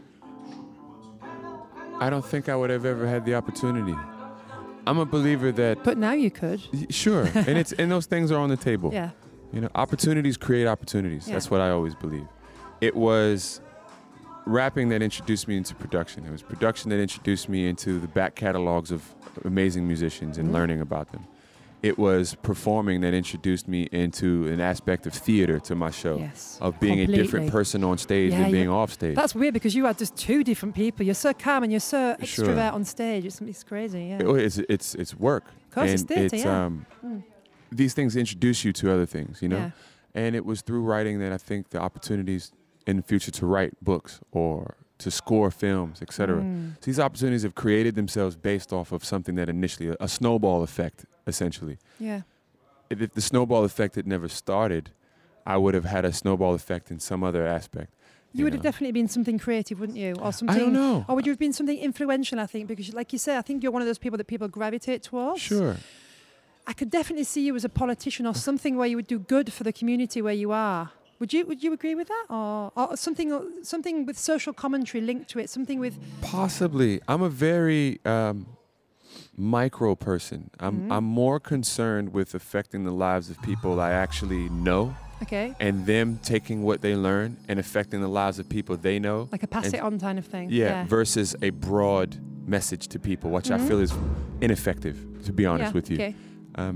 S5: I don't think I would have ever had the opportunity. I'm a believer that
S3: But now you could.
S5: y- sure, and it's and those things are on the table.
S3: Yeah.
S5: You know, opportunities create opportunities.
S3: Yeah.
S5: That's what I always believe. It was rapping that introduced me into production. It was production that introduced me into the back catalogs of amazing musicians and
S3: Mhm.
S5: learning about them. It was performing that introduced me into an aspect of theater to my show,
S3: Yes.
S5: of being a different
S3: Completely.
S5: person on stage
S3: Yeah,
S5: than being
S3: you-
S5: off stage.
S3: That's weird because you are just two different people. You're so calm and you're so
S5: Sure.
S3: extrovert on stage. It's, it's crazy, yeah.
S5: It- it's it's it's work.
S3: Of course,
S5: and
S3: it's theatre, yeah.
S5: um,
S3: Mm.
S5: these things introduce you to other things, you know.
S3: Yeah.
S5: And it was through writing that I think the opportunities in the future to write books or to score films, et cetera.
S3: Mm.
S5: So these opportunities have created themselves based off of something that initially, a, a snowball effect, essentially.
S3: Yeah.
S5: If, if the snowball effect had never started, I would have had a snowball effect in some other aspect.
S3: You would have
S5: know.
S3: definitely been something creative, wouldn't you? Or something.
S5: I don't know.
S3: Or would you have been something influential, I think? Because, like you say, I think you're one of those people that people gravitate towards.
S5: Sure.
S3: I could definitely see you as a politician or something where you would do good for the community where you are. Would you Would you agree with that, or, or something something with social commentary linked to it? Something with
S5: Possibly. I'm a very um, micro person. I'm
S3: Mhm.
S5: I'm more concerned with affecting the lives of people I actually know,
S3: okay,
S5: and them taking what they learn and affecting the lives of people they know.
S3: like a pass
S5: and-
S3: it on kind of thing.
S5: Yeah, versus a broad message to people, which I
S3: Mhm.
S5: feel is ineffective, to be honest
S3: Yeah,
S5: with you.
S3: Okay.
S5: Um,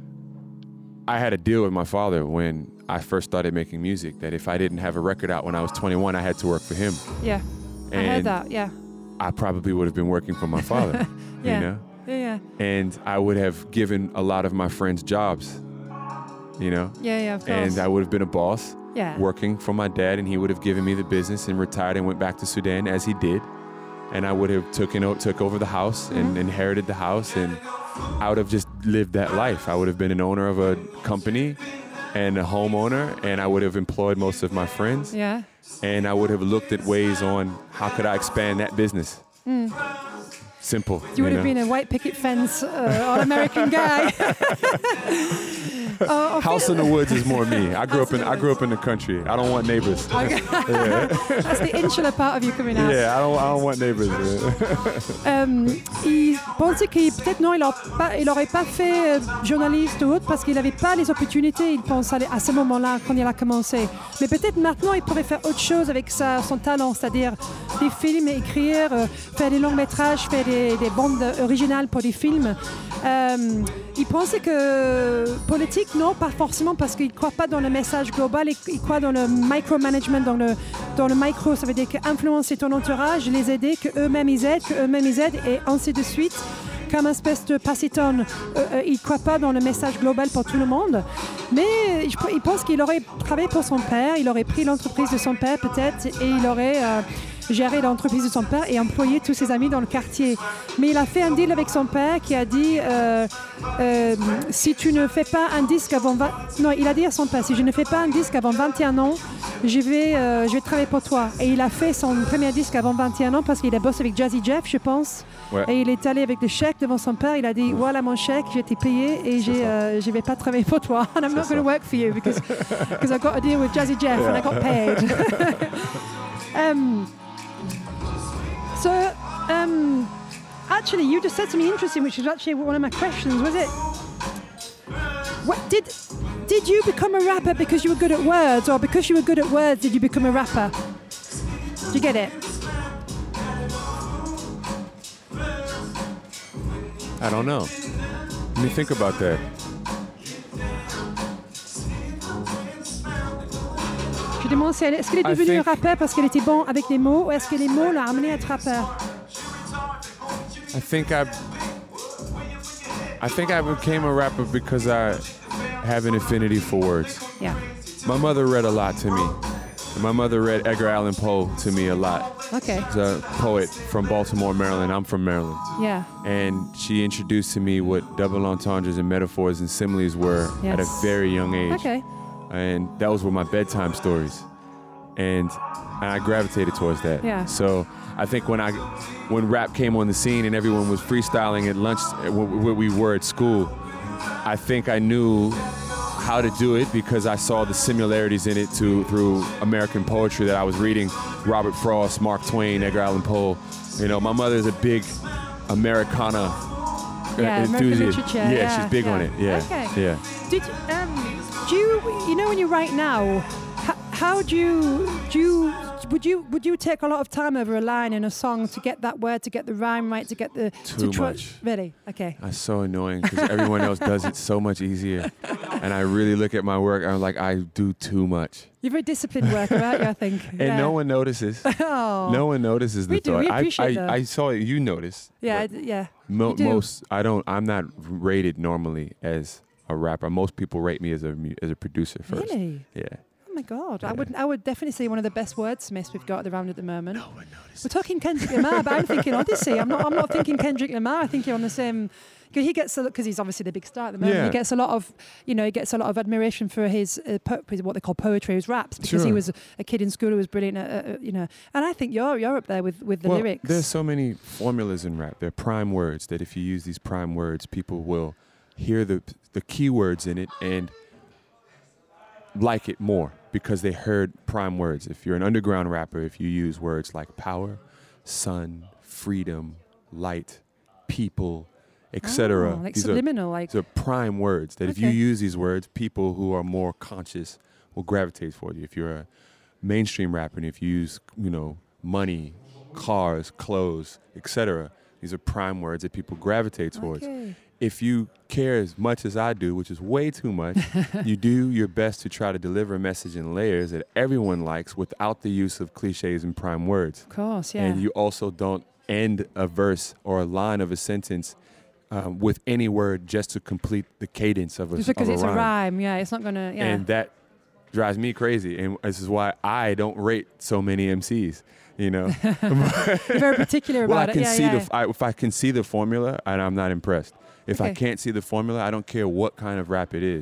S5: I had a deal with my father when I first started making music that if I didn't have a record out when I was twenty-one, I had to work for him.
S3: Yeah. I heard
S5: And
S3: that. Yeah.
S5: I probably would have been working for my father,
S3: Yeah.
S5: you know?
S3: Yeah. Yeah.
S5: And I would have given a lot of my friends jobs, you know?
S3: Yeah. Yeah. Of course.
S5: And I would have been a boss
S3: yeah.
S5: working for my dad, and he would have given me the business and retired and went back to Sudan as he did. And I would have taken o- took over the house and
S3: Mhm.
S5: inherited the house, and I would have just lived that life. I would have been an owner of a company and a homeowner, and I would have employed most of my friends.
S3: Yeah.
S5: And I would have looked at ways on how could I expand that business.
S3: Mm.
S5: Simple.
S3: You would
S5: you
S3: have
S5: know?
S3: been a white picket fence uh, all-American guy. uh,
S5: House in the woods is more me. I grew up in I grew up in the country. I don't want neighbors.
S3: Okay.
S5: Yeah.
S3: That's the insular part of you coming out.
S5: Yeah, I don't I don't want neighbors.
S3: Euh, il pensait qu'il peut-être non, il n'aurait pas, pas fait euh, journaliste ou autre parce qu'il n'avait pas les opportunités, il pense à, à ce moment-là quand il a commencé. Mais peut-être maintenant il pourrait faire autre chose avec sa, son talent, c'est-à-dire des films, écrire, euh, faire des longs métrages, faire des, des bandes originales pour des films. Euh, il pensait que politique, non, pas forcément parce qu'il ne croit pas dans le message global, il, il croit dans le micromanagement, dans le, dans le micro, ça veut dire qu'influencer ton entourage, les aider, qu'eux-mêmes ils aident, qu'eux-mêmes ils aident, et ainsi de suite. Comme une espèce de passitone, euh, euh, il ne croit pas dans le message global pour tout le monde. Mais je, il pense qu'il aurait travaillé pour son père, il aurait pris l'entreprise de son père peut-être, et il aurait euh, géré l'entreprise de son père et employé tous ses amis dans le quartier. Mais il a fait un deal avec son père qui a dit euh, euh, si tu ne fais pas un disque avant vingt... Non, il a dit à son père, si je ne fais pas un disque avant vingt et un ans, je vais, euh, je vais travailler pour toi. Et il a fait son premier disque avant vingt et un ans parce qu'il a bossé avec Jazzy Jeff, je pense.
S5: Ouais.
S3: Et il est allé avec le chèque devant son père. Il a dit, voilà mon chèque, j'ai été payé et j'ai, euh, je ne vais pas travailler pour toi. And I'm not going to work for you because because I got a deal with Jazzy Jeff
S5: Yeah.
S3: and I got paid. um, so, um, actually, you just said something interesting, which is actually one of my questions. Was it? What did did you become a rapper because you were good at words, or because you were good at words did you become a rapper? Do you get it?
S5: I don't know. Let me think about that.
S3: Je demande si elle, est-ce qu'elle est
S5: I
S3: devenue
S5: think-
S3: rappeur parce qu'elle était bon avec les mots, ou est-ce que les mots l'ont amené à être rappeur?
S5: I think I I think I became a rapper because I have an affinity for words.
S3: Yeah.
S5: My mother read a lot to me. My mother read Edgar Allan Poe to me a lot.
S3: Okay.
S5: He's a poet from Baltimore, Maryland. I'm from Maryland.
S3: Yeah.
S5: And she introduced to me what double entendres and metaphors and similes were at a
S3: Yes.
S5: very young age.
S3: Okay.
S5: And that was were my bedtime stories. And and I gravitated towards that.
S3: Yeah.
S5: So I think when I when rap came on the scene and everyone was freestyling at lunch where we were at school, I think I knew how to do it because I saw the similarities in it to through American poetry that I was reading. Robert Frost, Mark Twain, Edgar Allan Poe. You know, my mother's a big Americana uh,
S3: Yeah, American
S5: enthusiast.
S3: literature,
S5: Yeah,
S3: yeah,
S5: she's big on
S3: yeah.
S5: it. Yeah.
S3: Okay.
S5: Yeah.
S3: Did um, do you you know when you write now? How, how do you do you would you would you take a lot of time over a line in a song to get that word, to get the rhyme right, to get the
S5: Too
S3: to try,
S5: much.
S3: Really? Okay.
S5: That's so annoying because everyone else does it so much easier. And I really look at my work, I'm like, I do too much.
S3: You're a very disciplined worker, aren't you? I think.
S5: And
S3: yeah.
S5: no one notices.
S3: Oh.
S5: No one notices the
S3: We do,
S5: thought.
S3: we
S5: I-
S3: appreciate
S5: I,
S3: that.
S5: I saw it. You noticed.
S3: Yeah.
S5: but
S3: I- Yeah.
S5: Mo-
S3: you do.
S5: most I don't. I'm not rated normally as a rapper. Most people rate me as a mu- as a producer first.
S3: Really?
S5: Yeah.
S3: Oh my God! I
S5: Yeah.
S3: would I would definitely say one of the best wordsmiths we've got around at the moment.
S5: No one notices.
S3: We're talking Kendrick Lamar, but I'm thinking Odyssey. I'm not. I'm not thinking Kendrick Lamar. I think you're on the same. Because he gets because he's obviously the big star at the moment.
S5: Yeah.
S3: He gets a lot of, you know, he gets a lot of admiration for his, uh, po- his what they call poetry, his raps, because he
S5: Sure.
S3: was a kid in school who was brilliant. At, uh, uh, you know, and I think you're you're up there with, with the
S5: well,
S3: lyrics.
S5: There's so many formulas in rap. They're prime words that if you use these prime words, people will hear the the keywords in it and like it more because they heard prime words. If you're an underground rapper, if you use words like power, sun, freedom, light, people, et cetera.
S3: Oh, like
S5: these
S3: subliminal,
S5: are,
S3: like
S5: these are prime words that if you
S3: Okay.
S5: use these words, people who are more conscious will gravitate toward you. If you're a mainstream rapper and if you use, you know, money, cars, clothes, et cetera, these are prime words that people gravitate towards.
S3: Okay.
S5: If you care as much as I do, which is way too much, you do your best to try to deliver a message in layers that everyone likes without the use of cliches and prime words.
S3: Of course, yeah.
S5: And you also don't end a verse or a line of a sentence um, with any word just to complete the cadence of a,
S3: Just because
S5: of a
S3: it's
S5: rhyme.
S3: a rhyme, yeah, it's not gonna, yeah.
S5: And that drives me crazy. And this is why I don't rate so many M Cs, you know.
S3: You're very particular
S5: Well, I
S3: about
S5: can
S3: it. Yeah,
S5: see
S3: yeah.
S5: the f- I, if I can see the formula, and I'm not impressed. If I
S3: Okay.
S5: can't see the formula, I don't care what kind of rap it is.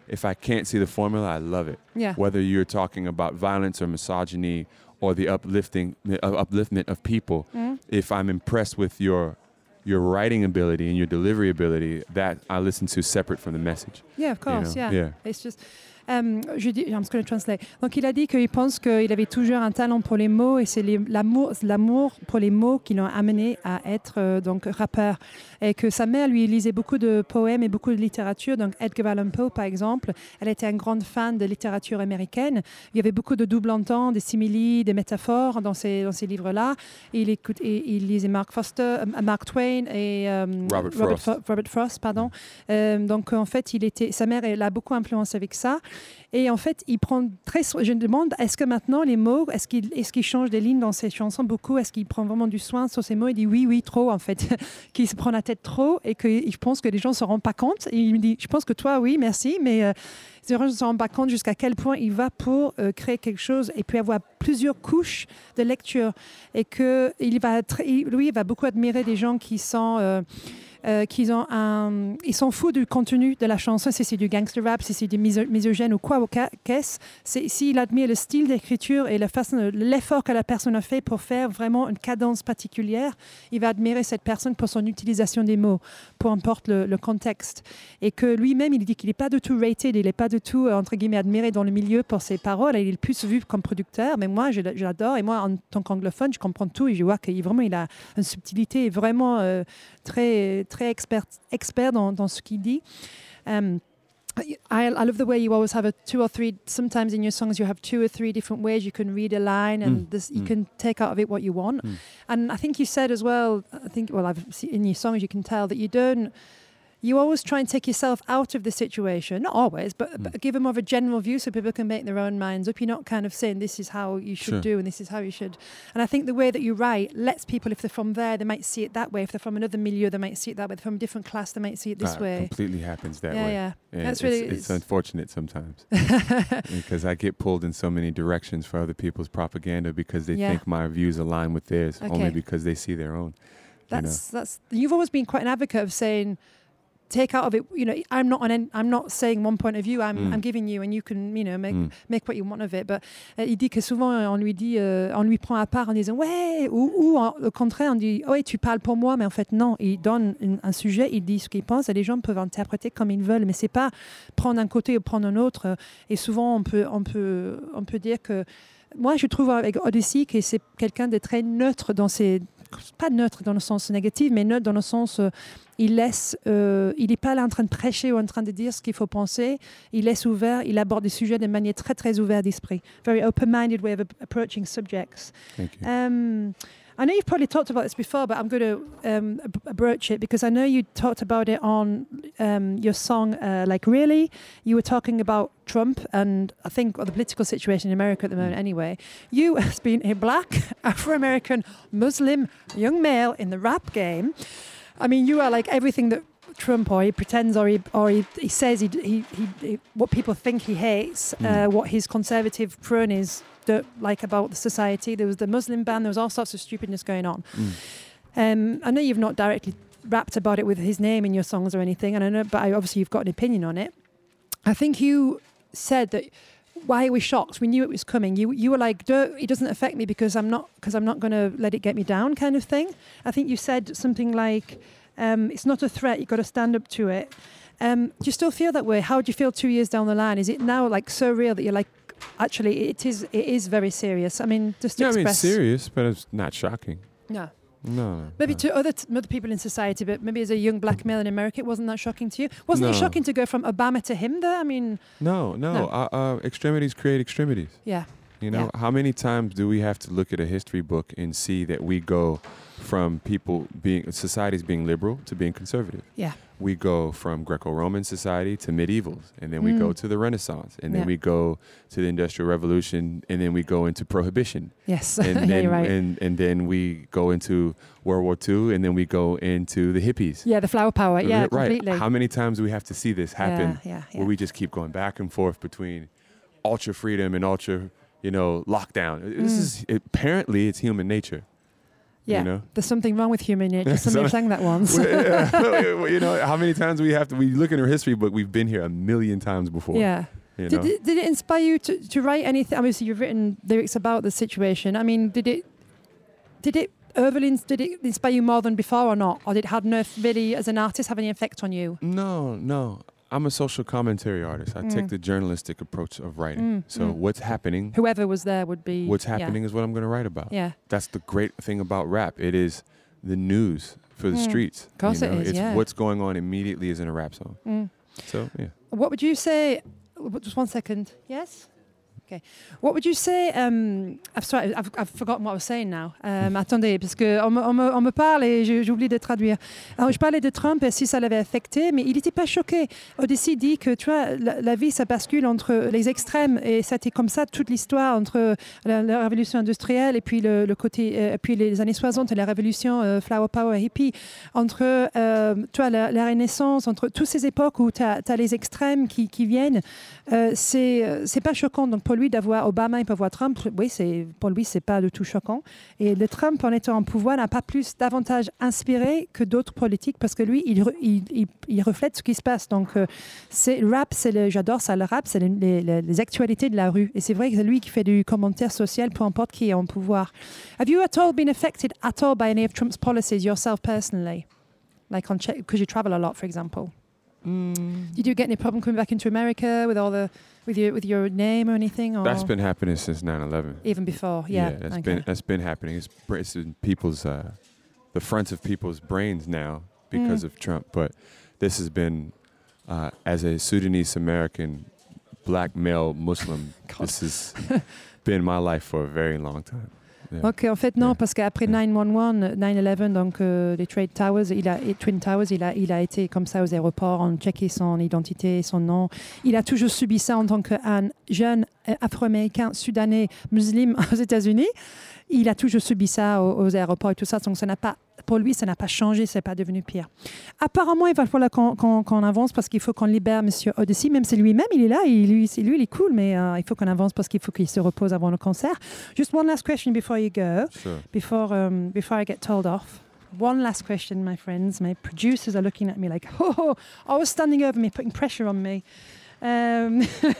S5: if I can't see the formula, I love it.
S3: Yeah.
S5: Whether you're talking about violence or misogyny or the uplifting, uh, upliftment of people,
S3: Mm.
S5: if I'm impressed with your your writing ability and your delivery ability, that I listen to separate from the message.
S3: Yeah, of course,
S5: know?
S3: yeah.
S5: Yeah.
S3: It's just... Um, je dis, I'm just going to translate. Donc, il a dit qu'il pense qu'il avait toujours un talent pour les mots et c'est les- l'amour, l'amour pour les mots qui l'ont amené à être euh, donc rappeur. Et que sa mère lui lisait beaucoup de poèmes et beaucoup de littérature. Donc, Edgar Allan Poe, par exemple, elle était une grande fan de littérature américaine. Il y avait beaucoup de double entendre, des similes, des métaphores dans ces, dans ces livres-là. Et il, écoute, et, il lisait Mark Foster, euh, Mark Twain et euh,
S5: Robert Frost.
S3: Fo- Robert Frost, pardon. Euh, donc, en fait, il était, sa mère elle l'a beaucoup influencé avec ça. Et en fait, il prend très soin. Je me demande, est-ce que maintenant, les mots, est-ce qu'il, est-ce qu'il change des lignes dans ses chansons beaucoup? Est-ce qu'il prend vraiment du soin sur ses mots? Il dit oui, oui, trop, en fait. Qu'il se prend la tête trop et que je pense que les gens ne se rendent pas compte. Et il me dit, je pense que toi, oui, merci, mais euh, les gens ne se rendent pas compte jusqu'à quel point il va pour euh, créer quelque chose et puis avoir plusieurs couches de lecture. Et que il va, tr- il- lui, il va beaucoup admirer des gens qui sont... euh, Euh, qu'ils ont un, ils s'en foutent du contenu de la chanson, si c'est du gangster rap, si c'est du miso- misogène ou quoi, ou ca- qu'est-ce. C'est, s'il admire le style d'écriture et la façon, l'effort que la personne a fait pour faire vraiment une cadence particulière, il va admirer cette personne pour son utilisation des mots, peu importe le, le contexte. Et que lui-même, il dit qu'il n'est pas du tout rated, il n'est pas du tout, euh, entre guillemets, admiré dans le milieu pour ses paroles, il est plus vu comme producteur, mais moi, je, je l'adore, et moi, en tant qu'anglophone, je comprends tout, et je vois qu'il vraiment, il a une subtilité vraiment euh, très... très expert, expert dans, dans ce qu'il dit. Um, I, I love the way you always have a two or three, sometimes in your songs you have two or three different ways you can read a line and
S5: Mm.
S3: this, you
S5: Mm.
S3: can take out of it what you want.
S5: Mm.
S3: And I think you said as well, I think, well, I've seen in your songs you can tell that you don't, you always try and take yourself out of the situation, not always, but,
S5: Mm.
S3: but give them more of a general view so people can make their own minds up. You're not kind of saying this is how you should
S5: Sure.
S3: do and this is how you should. And I think the way that you write lets people, if they're from there, they might see it that way. If they're from another milieu, they might see it that way. If they're from a different class, they might see it this
S5: Ah,
S3: way.
S5: completely happens that
S3: yeah,
S5: way.
S3: yeah.
S5: And
S3: That's
S5: it's,
S3: really-
S5: it's
S3: it's-
S5: unfortunate sometimes because I get pulled in so many directions for other people's propaganda because they
S3: Yeah.
S5: think my views align with theirs
S3: Okay.
S5: only because they see their own.
S3: That's that's. You've always been quite an advocate of saying, take out of it. You know, I'm not on. Any, I'm not saying one point of view. I'm
S5: Mm.
S3: I'm giving you, and you can, you know, make
S5: Mm.
S3: make what you want of it. But euh, il dit que souvent euh, on lui dit, euh, on lui prend à part en disant ouais, ou, ou en- au contraire on dit ouais, tu parles pour moi, mais en fait non. Il donne une- un sujet, il dit ce qu'il pense, et les gens peuvent interpréter comme ils veulent. Mais c'est pas prendre un côté ou prendre un autre. Et souvent on peut on peut on peut dire que moi je trouve avec Odyssey que c'est quelqu'un de très neutre dans ses, pas neutre dans le sens négatif, mais neutre dans le sens euh, il laisse, euh, il n'est pas là en train de prêcher ou en train de dire ce qu'il faut penser. Il laisse ouvert, il aborde des sujets de manière très très ouverte d'esprit. Very open-minded way of ap- approaching subjects.
S5: Thank you.
S3: Um, I know you've probably talked about this before, but I'm going to um, ab- broach it because I know you talked about it on um, your song, uh, Like Really. You were talking about Trump and I think or the political situation in America at the moment anyway. You, as being a black, Afro-American, Muslim young male in the rap game, I mean, you are like everything that Trump, or he pretends, or he, or he, he says he, he, he, he, what people think he hates, uh,
S5: Mm.
S3: what his conservative cronies don't like about the society. There was the Muslim ban, there was all sorts of stupidness going on.
S5: Mm.
S3: Um, I know you've not directly rapped about it with his name in your songs or anything, and I know, but I, obviously you've got an opinion on it. I think you said that. Why are we shocked? We knew it was coming. You you were like, Don't, it doesn't affect me because I'm not because I'm not going to let it get me down, kind of thing. I think you said something like, um, "It's not a threat. You've got to stand up to it." Um, do you still feel that way? How do you feel two years down the line? Is it now like so real that you're like, actually, it is it is very serious? I mean, just to
S5: Yeah, I mean,
S3: express.
S5: it's serious, but it's not shocking.
S3: No.
S5: No. no,
S3: Maybe
S5: no.
S3: to other t- other people in society, but maybe as a young black male in America, it wasn't that shocking to you. Wasn't it
S5: No.
S3: shocking to go from Obama to him? There, I mean,
S5: No, no.
S3: No.
S5: Uh, uh, extremities create extremities.
S3: yeah,
S5: You know, how many times do we have to look at a history book and see that we go from people being, societies being liberal to being conservative?
S3: yeah,
S5: We go from Greco-Roman society to medievals, and then we
S3: Mm.
S5: go to the Renaissance, and
S3: Yeah.
S5: then we go to the Industrial Revolution, and then we go into Prohibition,
S3: yes,
S5: and
S3: yeah,
S5: then
S3: you're right.
S5: and, and then we go into World War Two, and then we go into the hippies.
S3: Yeah, the flower power. Yeah,
S5: right.
S3: completely.
S5: How many times do we have to see this happen?
S3: Yeah, yeah, yeah.
S5: Where we just keep going back and forth between ultra freedom and ultra, you know, lockdown. This
S3: Mm.
S5: is apparently it's human nature.
S3: Yeah,
S5: You know.
S3: there's something wrong with human nature. Somebody sang that once.
S5: You know, how many times we have to, we look in our history book, we've been here a million times before.
S3: Yeah.
S5: You
S3: Did
S5: know?
S3: it, did it inspire you to, to write anything? Obviously, you've written lyrics about the situation. I mean, did it did it overly ins- did it inspire you more than before or not? Or did it have no really, as an artist, have any effect on you?
S5: No, no. I'm a social commentary artist. I
S3: Mm.
S5: take the journalistic approach of writing.
S3: Mm,
S5: So
S3: mm.
S5: what's happening,
S3: Whoever was there would be.
S5: what's
S3: yeah.
S5: happening is what I'm going to write about.
S3: Yeah.
S5: That's the great thing about rap. It is the news for the
S3: Mm.
S5: streets.
S3: Of course
S5: you know?
S3: it is,
S5: It's
S3: yeah.
S5: what's going on immediately is in a rap song.
S3: Mm.
S5: So, yeah.
S3: What would you say? w- Just one second. Yes. Okay. What would you say? Um, I'm sorry, I've, I've forgotten what I was saying now. Um, attendez, parce que on me, on me, on me parle et j'ai j'ai oublié de traduire. Alors, je parlais de Trump et si ça l'avait affecté, mais il n'était pas choqué. Odyssey dit que tu vois, la, la vie, ça bascule entre les extrêmes et ça a été comme ça toute l'histoire entre la, la révolution industrielle et puis le, le côté, euh, puis les années soixante et la révolution euh, flower power hippie, entre euh, tu vois, la, la Renaissance, entre toutes ces époques où tu as les extrêmes qui, qui viennent. Euh, c'est euh, c'est pas choquant. Donc pour lui d'avoir Obama et pas voir Trump, oui, c'est pour lui c'est pas du tout choquant. Et le Trump en étant en pouvoir n'a pas plus davantage inspiré que d'autres politiques parce que lui il, re- il, il, il reflète ce qui se passe. Donc euh, c'est le rap, c'est le, j'adore ça, le rap, c'est les, les, les- les actualités de la rue. Et c'est vrai que c'est lui qui fait du commentaire social, peu importe qui est en pouvoir. Have you at all been affected at all by any of Trump's policies yourself personally, like on because you travel a lot, for example? Did you get any problem coming back into America with all the with your with your name or anything? Or
S5: That's been happening since nine eleven.
S3: even before, yeah.
S5: that's
S3: okay.
S5: been that's been happening. It's, br- it's in people's uh, the fronts of people's brains now because
S3: Mm.
S5: of Trump. But this has been uh, as a Sudanese American, black male Muslim.
S3: God.
S5: This has been my life for a very long time. Yeah.
S3: Ok, en fait non,
S5: Yeah.
S3: parce qu'après
S5: Yeah.
S3: nine one one, nine eleven, donc euh, les Trade Towers, il a, et Twin Towers, il a, il a été comme ça aux aéroports, on checké son identité, son nom. Il a toujours subi ça en tant qu'un jeune euh, Afro-Américain, Soudanais, musulman aux États-Unis. Il a toujours subi ça aux, aux aéroports et tout ça, donc ça n'a pas, pour lui, ça n'a pas changé, c'est pas devenu pire. Apparemment, il va falloir qu'on qu'on- qu'on avance parce qu'il faut qu'on libère Monsieur Odyssey, même si lui-même, il est là, il, lui, c'est- lui, il est cool, mais euh, il faut qu'on avance parce qu'il faut qu'il se repose avant le concert. Just one last question before you go.
S5: Sure.
S3: before um, before I get told off. One last question, my friends. My producers are looking at me like, oh, always standing over me, putting pressure on me. Um,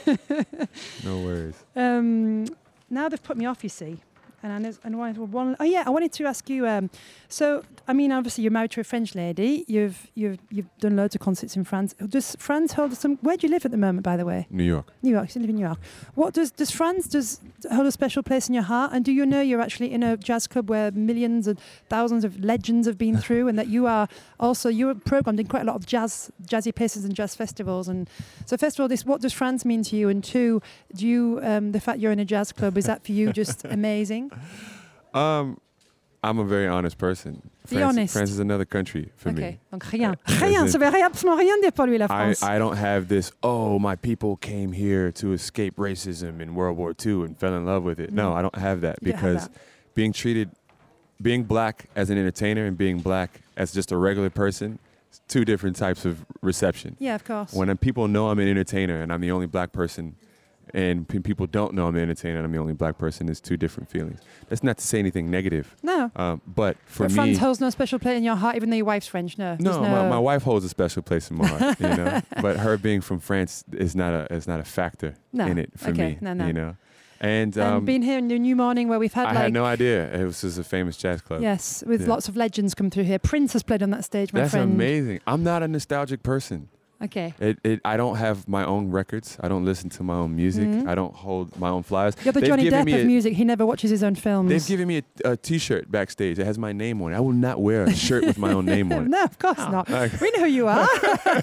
S5: No worries.
S3: um, now they've put me off, you see. And I, know- and I wanted one. Oh yeah, I wanted to ask you. Um, so, I mean, obviously, you're married to a French lady. You've you've you've done loads of concerts in France. Does France hold some? Where do you live at the moment, by the way?
S5: New York.
S3: New York. You live in New York. What does does France does hold a special place in your heart? And do you know you're actually in a jazz club where millions and thousands of legends have been through, and that you are also you're programmed in quite a lot of jazz jazzy places and jazz festivals. And so, first of all, this what does France mean to you? And two, do you um, the fact you're in a jazz club, is that for you just amazing?
S5: Um, I'm a very honest person.
S3: Be
S5: France,
S3: honest.
S5: France is another country for
S3: Ok.
S5: me.
S3: Donc rien,
S5: As
S3: rien.
S5: in-
S3: Ça veut rien, absolument rien dire pour lui la
S5: I,
S3: France.
S5: I don't have this, oh, my people came here to escape racism in World War Two and fell in love with it. No,
S3: Mm.
S5: I don't have that
S3: You don't have
S5: because
S3: that.
S5: being treated, being black as an entertainer and being black as just a regular person, it's two different types of reception.
S3: Yeah, of course.
S5: When uh, people know I'm an entertainer and I'm the only black person, and p- people don't know I'm an entertainer and I'm the only black person, it's two different feelings. That's not to say anything negative,
S3: no.
S5: um, but for
S3: But
S5: me,
S3: France holds no special place in your heart, even though your wife's French. No.
S5: no,
S3: There's
S5: my, my wife holds a special place in my heart, you know. But her being from France is not a is not a factor
S3: No.
S5: in it for
S3: Okay,
S5: me,
S3: no, no.
S5: you know. And,
S3: And
S5: um,
S3: been here in the New Morning where we've had
S5: I
S3: like
S5: had no idea it was just a famous jazz club.
S3: yes, with
S5: Yeah.
S3: lots of legends come through here. Prince has played on that stage, my
S5: That's
S3: friend.
S5: amazing. I'm not a nostalgic person.
S3: Okay.
S5: It, it, I don't have my own records. I don't listen to my own music.
S3: Mhm.
S5: I don't hold my own flyers.
S3: You're the
S5: They've
S3: Johnny
S5: given
S3: Depp
S5: me
S3: of
S5: a-
S3: music. He never watches his own films.
S5: They've given me a, a T-shirt backstage. It has my name on it. I will not wear a shirt with my own name on it.
S3: No, of course not.
S5: Like,
S3: We know who you are.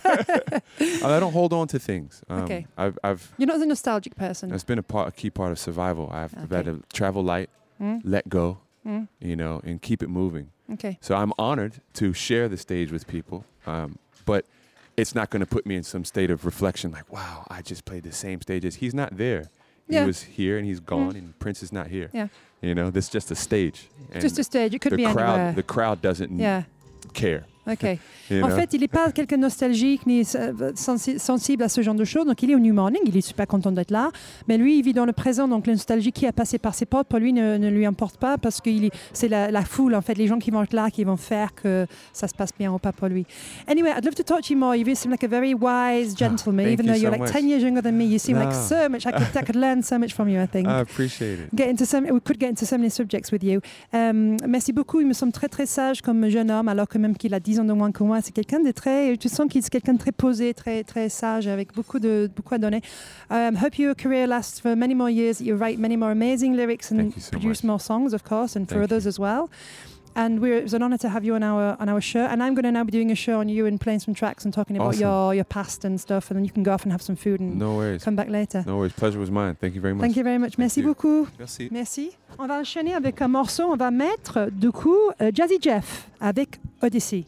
S5: I don't hold on to things. Um,
S3: Okay.
S5: I've, I've
S3: You're not a nostalgic person.
S5: That's been a part, a key part of survival. I've
S3: Okay.
S5: had to travel light,
S3: Mm?
S5: let go,
S3: Mm?
S5: you know, and keep it moving.
S3: Okay.
S5: So I'm honored to share the stage with people, um, but it's not going to put me in some state of reflection like, wow, I just played the same stages. He's not there.
S3: Yeah.
S5: He was here and he's gone,
S3: Mm.
S5: and Prince is not here.
S3: Yeah.
S5: You know, this is just a stage. And
S3: Just a stage. It could
S5: the
S3: be
S5: crowd,
S3: anywhere.
S5: the crowd doesn't
S3: yeah.
S5: care.
S3: Ok.
S5: You
S3: En
S5: know?
S3: fait, il n'est pas quelqu'un de nostalgique ni euh, sensi- sensible à ce genre de choses. Donc, il est au New Morning, il est super content d'être là. Mais lui, il vit dans le présent. Donc, la nostalgie qui a passé par ses portes, pour lui, ne, ne lui importe pas parce que il est- c'est la, la foule, en fait, les gens qui vont être là, qui vont faire que ça se passe bien ou pas pour lui. Anyway, I'd love to talk to you more. You seem like a very wise gentleman,
S5: thank
S3: even
S5: you
S3: though you're
S5: so
S3: like
S5: much.
S3: ten years younger than me. You seem like
S5: No.
S3: so much. I could, I could learn so much from you, I think.
S5: I appreciate it.
S3: Get into some, we could get into so many subjects with you. Euh, merci beaucoup. Il me semble très très sage comme jeune homme, alors que même qu'il a dix ans de moins que moi, c'est quelqu'un de très. Tu sens qu'il est quelqu'un de très posé, très très sage, avec beaucoup de beaucoup à donner. Um, hope your career lasts for many more years. That you write many more amazing lyrics and
S5: Thank you so
S3: produce
S5: much.
S3: more songs, of course, and for
S5: Thank
S3: others as well. And we're, it was an honor to have you on our on our show. And I'm going to now be doing a show on you and playing some tracks and talking about
S5: Awesome.
S3: your your past and stuff. And then you can go off and have some food and
S5: No worries.
S3: come back later.
S5: No worries. Pleasure was mine. Thank you very much.
S3: Thank you very much. Merci
S5: you.
S3: beaucoup.
S5: Merci.
S3: Merci. On va enchaîner avec un morceau. On va mettre, du coup, euh, Jazzy Jeff avec Odyssey.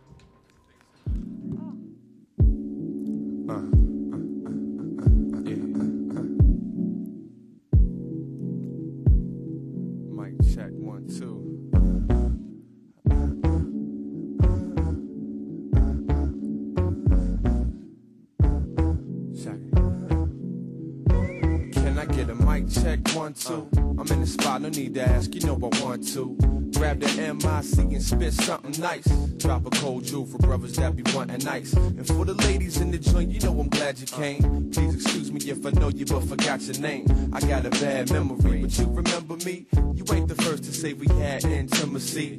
S5: Mic check one two. Check. Can I get a mic check one two? I'm in the spot, no need to ask, you know I want to. Grab the M I C and spit something nice. Drop a cold jewel for brothers that be wanting ice. And for the ladies in the joint, you know I'm glad you came. Please excuse me if I know you but forgot your name. I got a bad memory, but you remember me? You ain't the first to say we had intimacy.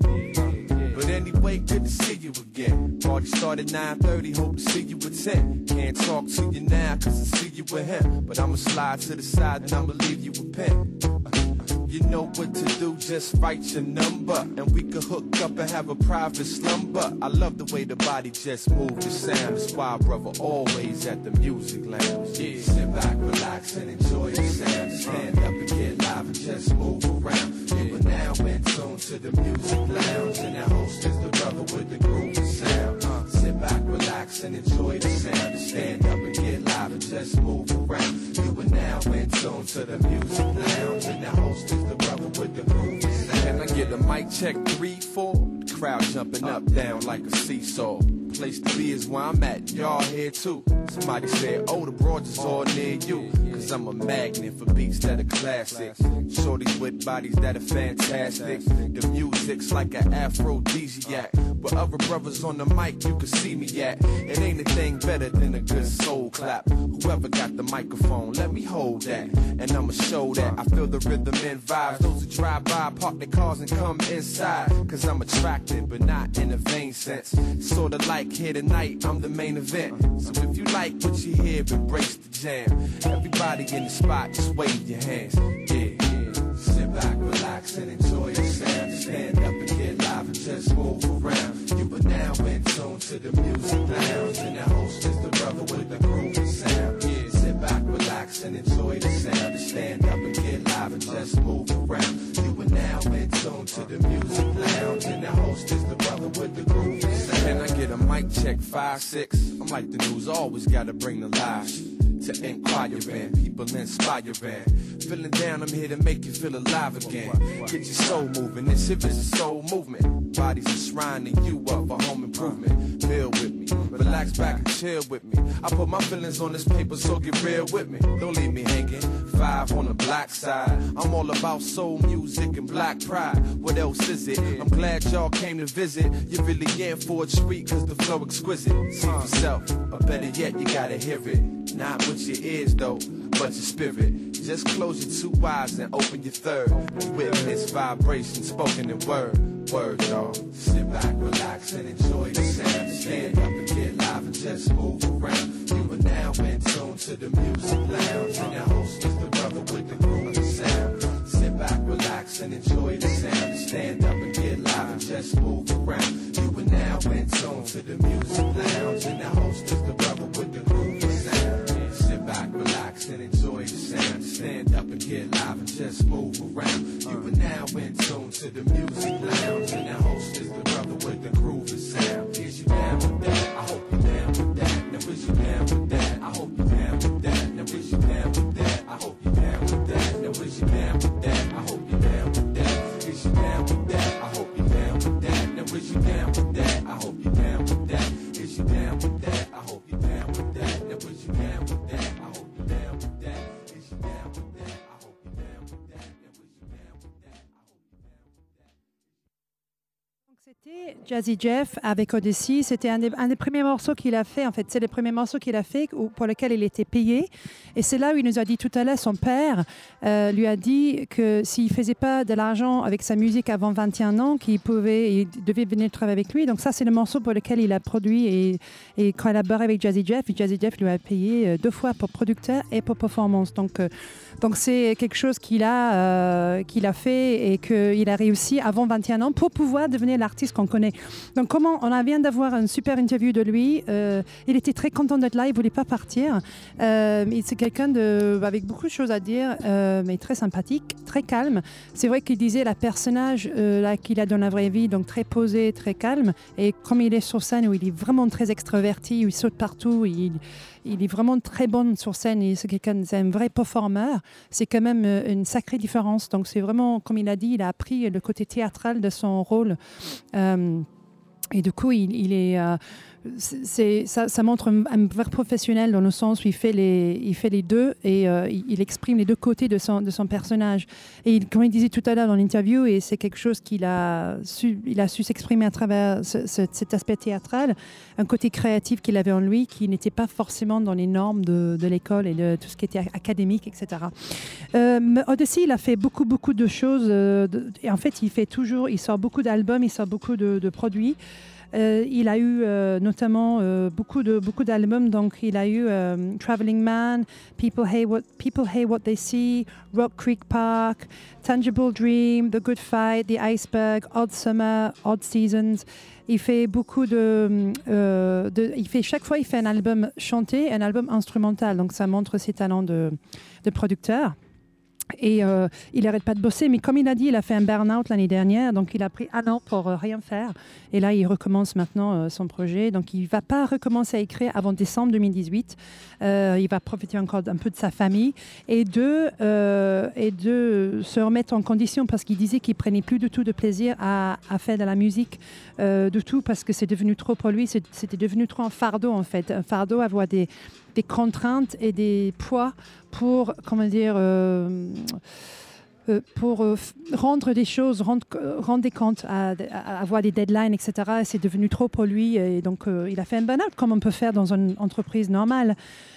S5: But anyway, good to see you again. Party started nine thirty, hope to see you at ten. Can't talk to you now cause I see you with him. But I'ma slide to the side and I'ma leave you a pen. You know what to do, just write your number and we could hook up and have a private slumber. I love the way the body just moves the sound. That's why brother always at the music lounge. Yeah, sit back, relax and enjoy the sound. Stand up and get live and just move around. You are now in tune to the music lounge, and the host is the brother with the groovy sound. Uh, sit back, relax and enjoy the sound. Stand up and get live and just move around. You are now in tune to the music lounge, and the host is the brother with the groovy sound. Can I get a mic check three, four? The crowd jumping up, down like a seesaw. Place to be is where I'm at, y'all here too. Somebody said, oh, the broads is all near you. Cause I'm a magnet for beats that are classics. Shorties with bodies that are fantastic. The music's like an aphrodisiac. With other brothers on the mic, you can see me at. It ain't a thing better than a good soul clap. Whoever got the microphone, let me hold that. And I'ma show that I feel the rhythm and vibes. Those who drive by, park their cars and come inside. Cause I'm attracted, but not in a vain sense. Sorta like here tonight, I'm the main event. So if you like what you hear, embrace the jam. Everybody in the spot, just wave your hands. Yeah, yeah. Sit back, relax, and enjoy the sound. Stand up and get live and just move around. You are now in tune to the music lounge, and the host is the brother with the groovy sound. Yeah, sit back, relax, and enjoy the sound. Stand up and get live and just move around. You are now in tune to the music lounge, and the host is the brother with the groovy sound. Can I get a mic check five, six? I'm like the news, always gotta bring the live. To inquire in, people inspiring. Feeling down, I'm here to make you feel alive again. Get your soul moving, this hip is a soul movement. Bodies are shrining you up for home improvement. Feel with me, relax back and chill with me. I put my feelings on this paper, so get real with me. Don't leave me hanging, five on the black side. I'm all about soul music and black pride. What else is it? I'm glad y'all came to visit. You're really in for a treat, cause the flow exquisite. See for self, or better yet, you gotta hear it. Not with your ears though, but your spirit. Just close your two eyes and open your third. And witness vibration spoken in word. Word, y'all. Sit back, relax, and enjoy the sound. Stand up and get live and just move around. You are now in tune to the music lounge, and the host is the brother with the groovy sound. Sit back, relax, and enjoy the sound. Stand up and get live and just move around. You are now in tune to the music lounge, and the host is the brother with the groovy sound. Sit back, relax, and enjoy the sound. Stand up and get live and just move around. You are now in tune to the music lounge, and the host is the brother with the groovy sound. Is you down with that? I hope you down with that. Now is you down with that? I hope you down with that. Now is you down with that? I hope you down with that. Now is you down with that? I hope you down with that. Is you down with that? I hope you down with that. Now is you down with that? I hope you down
S3: Jazzy Jeff avec Odyssey, c'était un des, un des premiers morceaux qu'il a fait. En fait, c'est le premier morceau qu'il a fait où, pour lequel il était payé. Et c'est là où il nous a dit tout à l'heure, son père euh, lui a dit que s'il ne faisait pas de l'argent avec sa musique avant vingt et un ans, qu'il pouvait, il devait venir travailler avec lui. Donc ça, c'est le morceau pour lequel il a produit et, et collaboré avec Jazzy Jeff. Et Jazzy Jeff lui a payé deux fois pour producteur et pour performance. Donc, euh, donc c'est quelque chose qu'il a, euh, qu'il a fait et qu'il a réussi avant vingt et un ans pour pouvoir devenir l'artiste qu'on connaît. Donc, comment on vient d'avoir une super interview de lui. Euh, il était très content d'être là, il ne voulait pas partir. Euh, c'est quelqu'un de, avec beaucoup de choses à dire, euh, mais très sympathique, très calme. C'est vrai qu'il disait la personnage euh, là, qu'il a dans la vraie vie, donc très posé, très calme. Et comme il est sur scène, où il est vraiment très extraverti, où il saute partout, il, il est vraiment très bon sur scène. Et c'est quelqu'un, c'est un vrai performeur. C'est quand même une sacrée différence. Donc, c'est vraiment, comme il a dit, il a appris le côté théâtral de son rôle. Euh, Et du coup, il, il est, euh, c'est, ça, ça montre un, un vrai professionnel dans le sens où il fait les, il fait les deux et euh, il, il exprime les deux côtés de son, de son personnage. Et il, comme il disait tout à l'heure dans l'interview, et c'est quelque chose qu'il a su, il a su s'exprimer à travers ce, ce, cet aspect théâtral, un côté créatif qu'il avait en lui qui n'était pas forcément dans les normes de, de l'école et de tout ce qui était académique, et cetera. Euh, Odyssey, il a fait beaucoup, beaucoup de choses. Euh, de, et en fait, il fait toujours, il sort beaucoup d'albums, il sort beaucoup de, de produits. Euh, il a eu euh, notamment euh, beaucoup, de, beaucoup d'albums, donc il a eu euh, Traveling Man, People Hate, What, People Hate What They See, Rock Creek Park, Tangible Dream, The Good Fight, The Iceberg, Odd Summer, Odd Seasons. Il fait beaucoup de, euh, de... Il fait, chaque fois, il fait un album chanté, un album instrumental, donc ça montre ses talents de, de producteur. Et euh, il n'arrête pas de bosser, mais comme il a dit, il a fait un burn-out l'année dernière, donc il a pris un an pour euh, rien faire. Et là, il recommence maintenant euh, son projet. Donc, il ne va pas recommencer à écrire avant décembre deux mille dix-huit. Euh, il va profiter encore un peu de sa famille et de, euh, et de se remettre en condition parce qu'il disait qu'il ne prenait plus du tout de plaisir à, à faire de la musique, euh, du tout, parce que c'est devenu trop pour lui. C'est, c'était devenu trop un fardeau, en fait. Un fardeau, avoir des, des contraintes et des poids pour, comment dire, euh, euh, pour euh, rendre des choses, rendre, rendre des comptes, à, à avoir des deadlines, et cetera. C'est devenu trop pour lui et donc euh, il a fait un burn-out comme on peut faire dans une entreprise normale.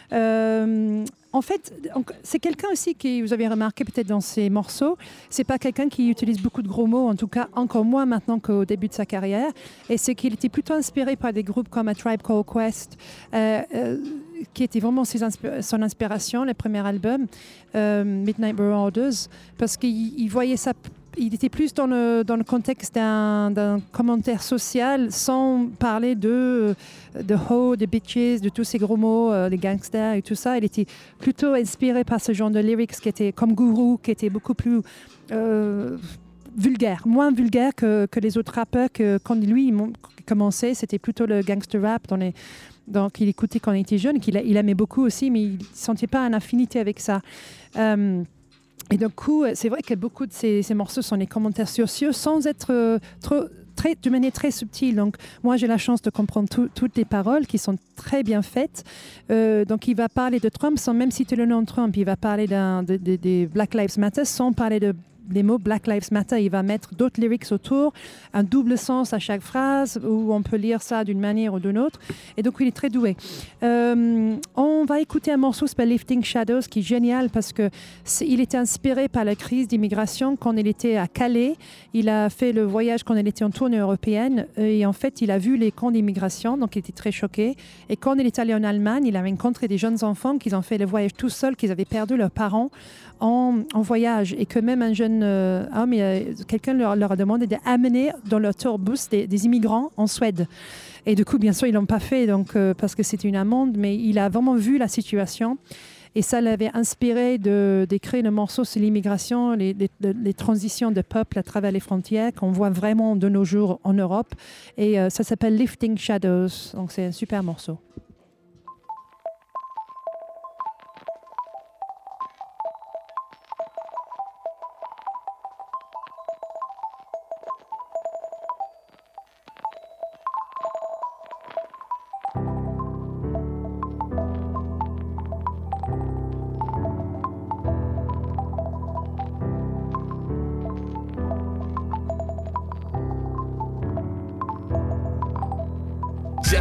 S3: Euh, en fait, c'est quelqu'un aussi qui, vous avez remarqué peut-être dans ses morceaux, c'est pas quelqu'un qui utilise beaucoup de gros mots, en tout cas encore moins maintenant qu'au début de sa carrière, et c'est qu'il était plutôt inspiré par des groupes comme A Tribe Called Quest, euh, euh, qui était vraiment ses insp- son inspiration, le premier album, euh, Midnight Marauders, parce qu'il il voyait ça. Il était plus dans le, dans le contexte d'un, d'un commentaire social sans parler de, de ho, de bitches, de tous ces gros mots, euh, les gangsters et tout ça. Il était plutôt inspiré par ce genre de lyrics qui étaient comme Guru, qui était beaucoup plus euh, vulgaire, moins vulgaire que, que les autres rappeurs. Que, quand lui il commençait, c'était plutôt le gangster rap dans les... Donc, il écoutait quand il était jeune, qu'il il aimait beaucoup aussi, mais il ne sentait pas une affinité avec ça. Euh, Et du coup, c'est vrai que beaucoup de ces, ces morceaux sont des commentaires sociaux sans être euh, trop, très, de manière très subtile. Donc, moi, j'ai la chance de comprendre tout, toutes les paroles qui sont très bien faites. Euh, donc, il va parler de Trump sans même citer le nom de Trump. Il va parler d'un, de, de, de Black Lives Matter sans parler de les mots Black Lives Matter. Il va mettre d'autres lyrics autour, un double sens à chaque phrase, où on peut lire ça d'une manière ou d'une autre. Et donc, il est très doué. Euh, on va écouter un morceau qui s'appelle Lifting Shadows, qui est génial parce qu'il était inspiré par la crise d'immigration quand il était à Calais. Il a fait le voyage quand il était en tournée européenne. Et en fait, il a vu les camps d'immigration, donc il était très choqué. Et quand il est allé en Allemagne, il a rencontré des jeunes enfants qui ont fait le voyage tout seuls, qui avaient perdu leurs parents en, en voyage. Et que même un jeune euh, homme, euh, quelqu'un leur, leur a demandé d'amener dans leur tourbus des, des immigrants en Suède. Et du coup, bien sûr, ils ne l'ont pas fait donc, euh, parce que c'était une amende, mais il a vraiment vu la situation. Et ça l'avait inspiré de, d'écrire le morceau sur l'immigration, les, les, les transitions de peuple à travers les frontières qu'on voit vraiment de nos jours en Europe. Et euh, ça s'appelle Lifting Shadows. Donc, c'est un super morceau.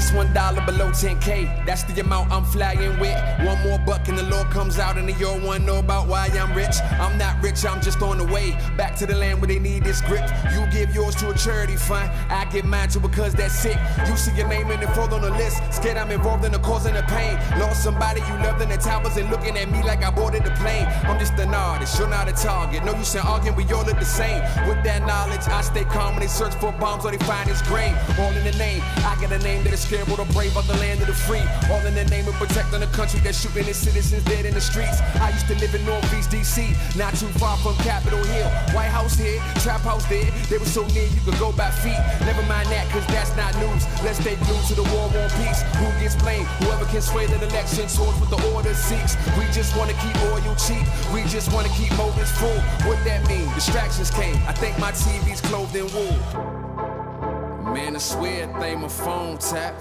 S6: Just one dollar below ten K, that's the amount I'm flying with. One more buck and the law comes out and the your one know about why I'm rich. I'm not rich, I'm just on the way back to the land where they need this grip. You give yours to a charity fund, I give mine to because that's sick. You see your name in the fold on the list, scared I'm involved in the cause and the pain. Lost somebody you loved in the towers and looking at me like I boarded the plane. I'm just an artist, you're not a target. No use in arguing, we all look the same. With that knowledge, I stay calm when they search for bombs or they find his grave. All in the name, I got a name that is scared, the brave of the land of the free. All in the name of protecting the country that's shooting its citizens dead in the streets. I used to live in Northeast D C, not too far from Capitol Hill. White House here, Trap House there. They were so near you could go by feet. Never mind that, cause that's not news. Let's stay glued to the war on peace. Who gets blamed? Whoever can sway that election towards what the order seeks. We just wanna keep oil cheap. We just wanna keep motives full. What that mean? Distractions came. I think my T V's clothed in wool. Man, I swear they my phone tap.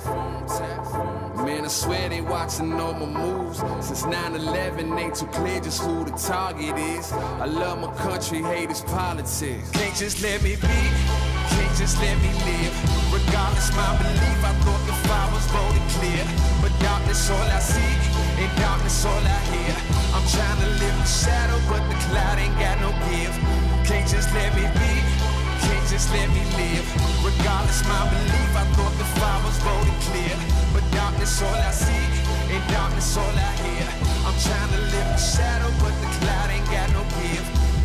S6: Man, I swear they watching all my moves. Since nine eleven, ain't too clear just who the target is. I love my country, hate its politics. Can't just let me be, can't just let me live. Regardless my belief, I thought the fire was voted clear. But darkness all I see, and darkness all I hear. I'm trying to live in shadow, but the cloud ain't got no give. Can't just let me be, can't just let me live. Regardless my belief, I thought the fire was voted clear. But darkness all I see, and darkness all I hear. I'm trying to live in shadow, but the cloud ain't got no give.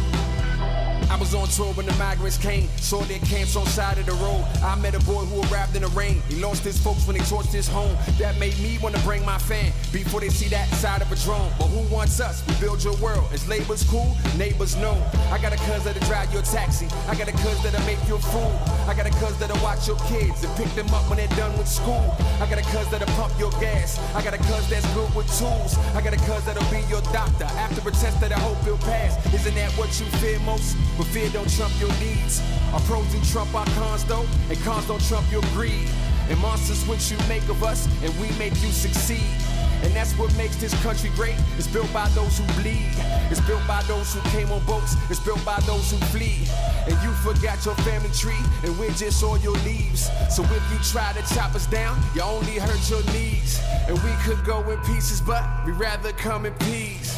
S6: I was on tour when the migrants came, saw their camps on side of the road. I met a boy who arrived in the rain. He lost his folks when they torched his home. That made me want to bring my fan before they see that side of a drone. But who wants us? We build your world. Is labels cool? Neighbors know. I got a cuz that'll drive your taxi. I got a cuz that'll make you a fool. I got a cuz that'll watch your kids and pick them up when they're done with school. I got a cuz that'll pump your gas. I got a cuz that's good with tools. I got a cuz that'll be your doctor after a test that I hope you'll pass. Isn't that what you fear most? But fear don't trump your needs. Our pros do trump our cons though, and cons don't trump your greed. And monsters what you make of us, and we make you succeed. And that's what makes this country great. It's built by those who bleed. It's built by those who came on boats. It's built by those who flee. And you forgot your family tree, and we're just all your leaves. So if you try to chop us down, you only hurt your knees. And we could go in pieces, but we'd rather come in peace.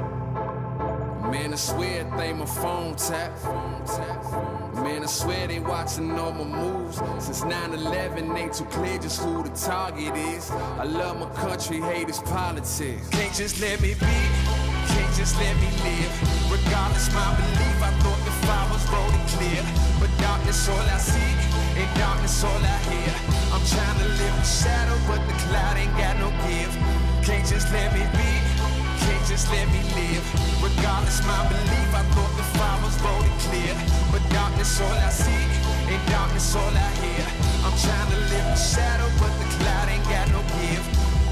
S6: Man, I swear they my phone tap. Man, I swear they watching all my moves. Since nine eleven, ain't too clear just who the target is. I love my country, hate its politics. Can't just let me be, can't just let me live. Regardless my belief, I thought the fire was voted clear. But darkness all I see, and darkness all I hear. I'm trying to live in shadow, but the cloud ain't got no give. Can't just let me be, can't just let me live. Regardless my belief, I thought the fire was voted clear. But darkness all I see, and darkness all I hear. I'm trying to live in shadow, but the cloud ain't got no give.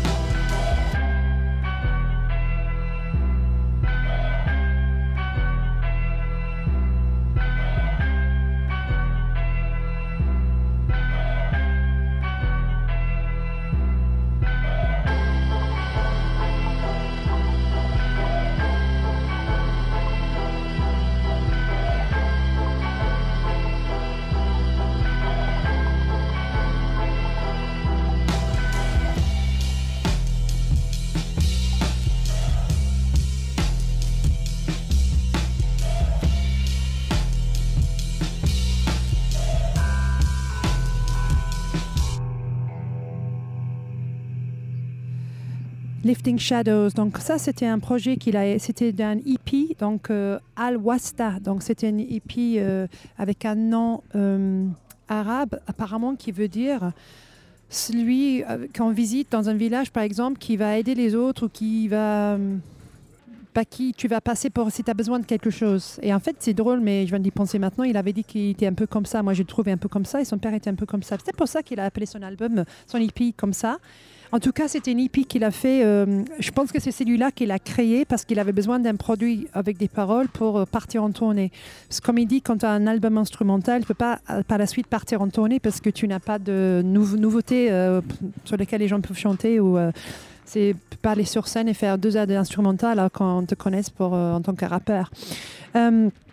S3: Lifting Shadows, donc ça c'était un projet qu'il a, c'était d'un E P, donc euh, Al Wasta, donc c'était un E P euh, avec un nom euh, arabe apparemment qui veut dire celui euh, qu'on visite dans un village par exemple qui va aider les autres ou qui va euh, pas qui tu vas passer pour si tu as besoin de quelque chose. Et en fait c'est drôle mais je viens d'y penser maintenant, il avait dit qu'il était un peu comme ça, moi je le trouvais un peu comme ça et son père était un peu comme ça. C'est pour ça qu'il a appelé son album, son E P comme ça. En tout cas, c'était une E P qu'il a fait. Euh, je pense que c'est celui-là qu'il a créé parce qu'il avait besoin d'un produit avec des paroles pour euh, partir en tournée. Parce que comme il dit, quand tu as un album instrumental, tu ne peux pas euh, par la suite partir en tournée parce que tu n'as pas de nou- nouveautés euh, sur lesquelles les gens peuvent chanter ou euh, c'est pas aller sur scène et faire deux heures d'instrumental alors qu'on te connaisse pour, euh, en tant que rappeur. Euh,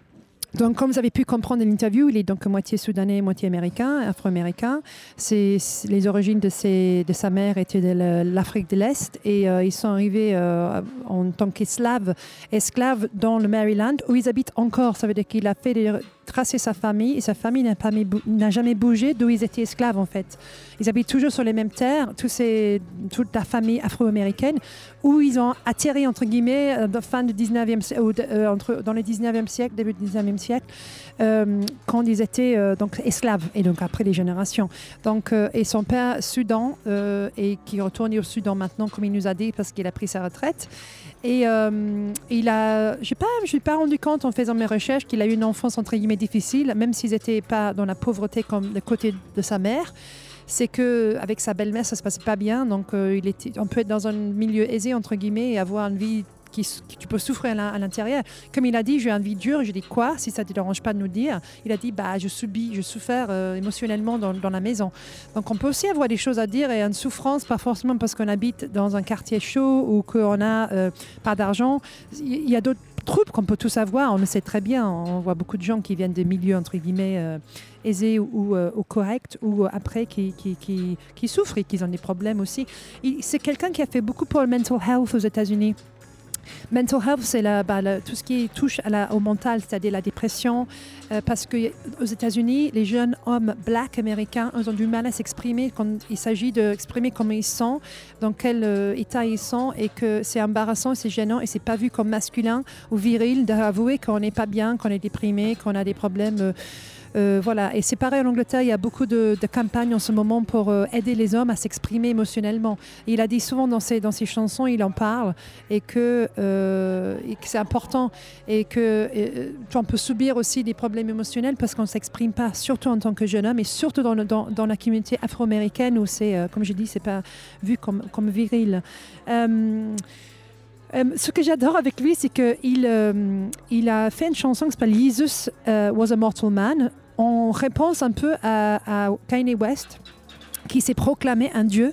S3: Donc, comme vous avez pu comprendre de l'interview, il est donc moitié soudanais, moitié américain, afro-américain. C'est, c'est, les origines de, ses, de sa mère étaient de la, l'Afrique de l'Est et euh, ils sont arrivés euh, en tant qu'esclaves, esclaves dans le Maryland où ils habitent encore. Ça veut dire qu'il a fait des, tracer sa famille et sa famille n'a, pas, n'a jamais bougé d'où ils étaient esclaves en fait. Ils habitent toujours sur les mêmes terres, tous ces, toute la famille afro-américaine où ils ont atterri entre guillemets euh, fin du dix-neuvième, ou de, euh, entre, dans le dix-neuvième siècle, début du dix-neuvième siècle, euh, quand ils étaient euh, donc esclaves et donc après les générations. Donc euh, et son père Soudan euh, et qui retourne au Soudan maintenant comme il nous a dit parce qu'il a pris sa retraite. Et euh, il a, j'ai pas, je n'ai pas rendu compte en faisant mes recherches qu'il a eu une enfance entre guillemets difficile, même s'ils n'étaient pas dans la pauvreté comme le côté de sa mère. C'est qu'avec sa belle-mère, ça ne se passait pas bien. Donc, euh, il était, on peut être dans un milieu aisé, entre guillemets, et avoir une vie qui, qui tu peux souffrir à l'intérieur. Comme il a dit, j'ai une vie dure. Je dis quoi, si ça ne te dérange pas de nous dire. Il a dit, bah, je subis, je souffre euh, émotionnellement dans, dans la maison. Donc, on peut aussi avoir des choses à dire et une souffrance, pas forcément parce qu'on habite dans un quartier chaud ou qu'on n'a euh, pas d'argent. Il y a d'autres troubles qu'on peut tous avoir. On le sait très bien. On voit beaucoup de gens qui viennent des milieux, entre guillemets, euh, aisés ou, ou, euh, ou corrects, ou euh, après qui, qui, qui, qui souffrent et qui ont des problèmes aussi. Il, c'est quelqu'un qui a fait beaucoup pour le mental health aux États-Unis. Mental health, c'est la, bah, la, tout ce qui touche à la, au mental, c'est-à-dire la dépression, euh, parce qu'aux États-Unis, les jeunes hommes blacks américains, ils ont du mal à s'exprimer quand il s'agit d'exprimer comment ils sont, dans quel euh, état ils sont, et que c'est embarrassant, c'est gênant, et c'est pas vu comme masculin ou viril d'avouer qu'on n'est pas bien, qu'on est déprimé, qu'on a des problèmes. Euh, Euh, voilà. Et c'est pareil en Angleterre, il y a beaucoup de, de campagnes en ce moment pour euh, aider les hommes à s'exprimer émotionnellement. Et il a dit souvent dans ses, dans ses chansons, il en parle, et que, euh, et que c'est important, et que et, on peut subir aussi des problèmes émotionnels parce qu'on ne s'exprime pas, surtout en tant que jeune homme, et surtout dans, le, dans, dans la communauté afro-américaine où c'est, euh, comme je dis, c'est pas vu comme, comme viril. Euh, Euh, ce que j'adore avec lui, c'est qu'il euh, il a fait une chanson qui s'appelle Jesus uh, Was a Mortal Man, en réponse un peu à, à Kanye West, qui s'est proclamé un dieu.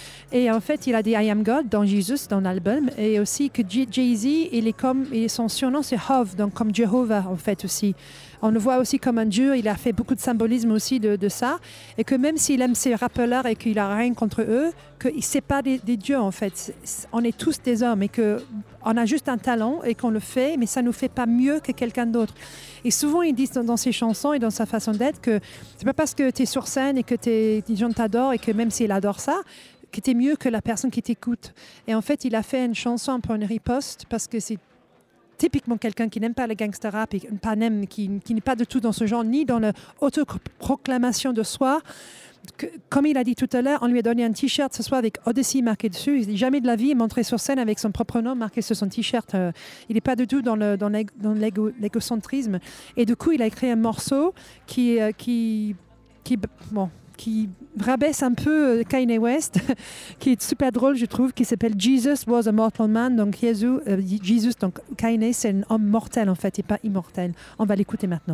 S3: Et en fait, il a dit I am God dans Jesus, dans l'album, et aussi que Jay-Z, il est comme, et son surnom c'est Hov, donc comme Jéhovah en fait aussi. On le voit aussi comme un dieu, il a fait beaucoup de symbolisme aussi de, de ça, et que même s'il aime ces rappeurs et qu'il n'a rien contre eux, qu'il ne sait pas des, des dieux en fait. On est tous des hommes et qu'on a juste un talent et qu'on le fait, mais ça ne nous fait pas mieux que quelqu'un d'autre. Et souvent, ils disent dans, dans ses chansons et dans sa façon d'être que c'est pas parce que tu es sur scène et que t'es, les gens t'adorent et que même s'ils adorent ça, que tu es mieux que la personne qui t'écoute. Et en fait, il a fait une chanson un peu une riposte parce que c'est typiquement quelqu'un qui n'aime pas le gangster rap et pas n'aime, qui, qui n'est pas du tout dans ce genre, ni dans l'autoproclamation de soi. Que, comme il a dit tout à l'heure, on lui a donné un t-shirt ce soir avec Odyssey marqué dessus. Il dit jamais de la vie il est montré sur scène avec son propre nom marqué sur son t-shirt. Euh, il n'est pas du tout dans, le, dans, l'égo, dans l'égo, l'égocentrisme. Et du coup, il a écrit un morceau qui, euh, qui, qui, bon, qui rabaisse un peu Kanye West, qui est super drôle, je trouve, qui s'appelle Jesus Was a Mortal Man. Donc, Jésus, euh, Jesus, donc Kanye, c'est un homme mortel en fait, et pas immortel. On va l'écouter maintenant.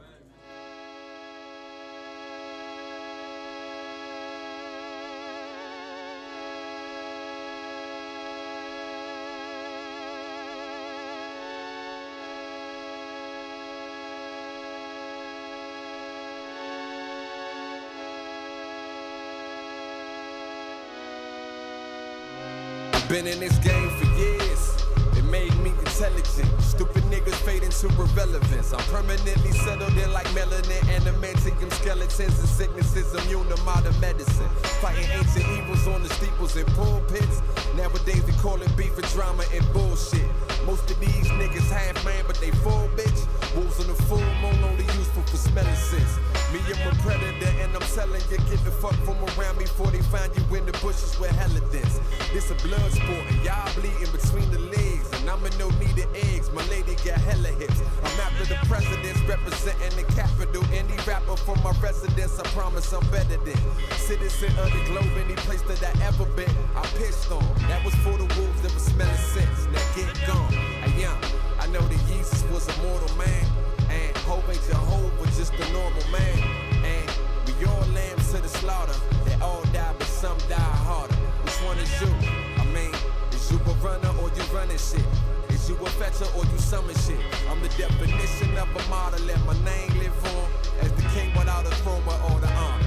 S6: Been in this game for years, it made me intelligent. Stupid niggas fade into irrelevance. I'm permanently settled in like melanin, adamantium skeletons and sicknesses immune to modern medicine. Fighting ancient evils on the steeples and pulpits. Nowadays we call it beef and drama and bullshit. Most of these niggas half man but they full bitch. Wolves on the full moon only useful for smelling sense. Me, I'm a predator and I'm telling you, get the fuck from around me before they find you in the bushes with hella dense. This a blood sport and y'all bleeding between the legs. And I'm in no need of eggs, my lady got hella hips. I'm after the presidents representing the capital. Any rapper from my residence, I promise I'm better than citizen of the globe, any place that I ever been. I pitched on, that was for the wolves that was smelling sense. Now get gone, hey young, I know that Jesus was a mortal man. And Hope ain't Jehovah, just a normal man. And we all lambs to the slaughter. They all die, but some die harder. Which one is you? I mean, is you a runner or you running shit? Is Is you a fetcher or you summon shit? I'm the definition of a model, let my name live on as the king without a throne but all the honor.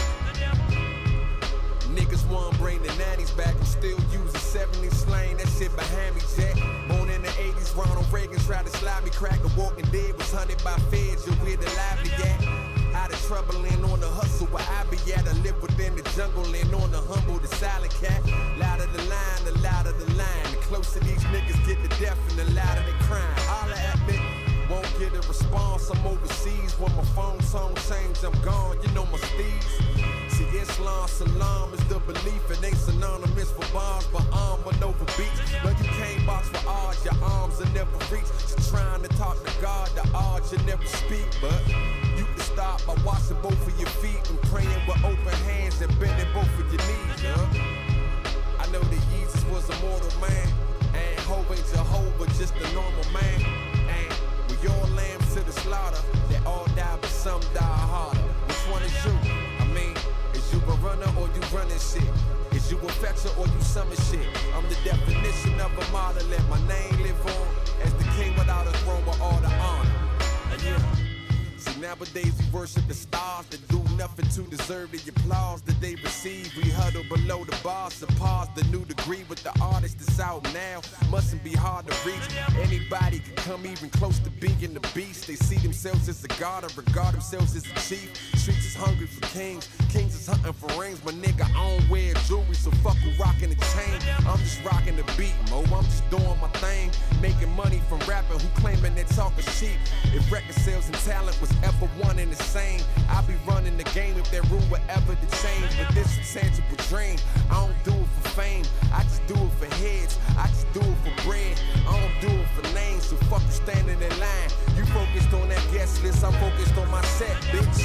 S6: Niggas want bring the nannies back and still use a seventies slang. That shit behind me, Jack. Born in the eighties, Ronald Reagan tried to slide me crack. The Walking Dead was hunted by feds. You're where the lively at. Out of trouble and on the hustle where I be at. I live within the jungle and on the humble, the silent cat. Louder the line, the louder the line. The closer these niggas get to death and the louder they crying. Holla at me. Won't get a response, I'm overseas. When my phone song change, I'm gone, you know my steeds. See, Islam, Salam is the belief. It ain't synonymous for bombs, but arm with over beats. No, you can't box for odds, your arms will never reach. So trying to talk to God, the odds you never speak. But you can start by washing both of your feet and praying with open hands and bending both of your knees, huh? I know that Jesus was a mortal man, and Hope ain't Jehovah, just a normal man. And we all lambs to the slaughter, they all die, but some die harder. Which one is you? I mean, is you a runner or you running shit? Is you a fetcher or you summon shit? I'm the definition of a model, let my name live on as the king without a throne with all the honor. And yeah. See, nowadays we worship the stars that do nothing to deserve the applause that they receive. We huddle below the bars, surpass the new degree with the artist that's out now. Mustn't be hard to reach. Anybody can come even close to being the beast. They see themselves as a god or regard themselves as a chief. Streets is hungry for kings, kings is hunting for rings. My nigga, I don't wear jewelry, so fuck who rocking the chain. I'm just rocking the beat, mo. I'm just doing my thing, making money from rapping who claiming they talking cheap. If record sales and talent was ever one and the same, I'd be running the game if that rule were ever to change. But this is a tangible dream. I don't do it for fame, I just do it for heads. I just do it for bread, I don't do it for names. So fuck you standing in line. You focused on that guest list, I'm focused on my set, bitch.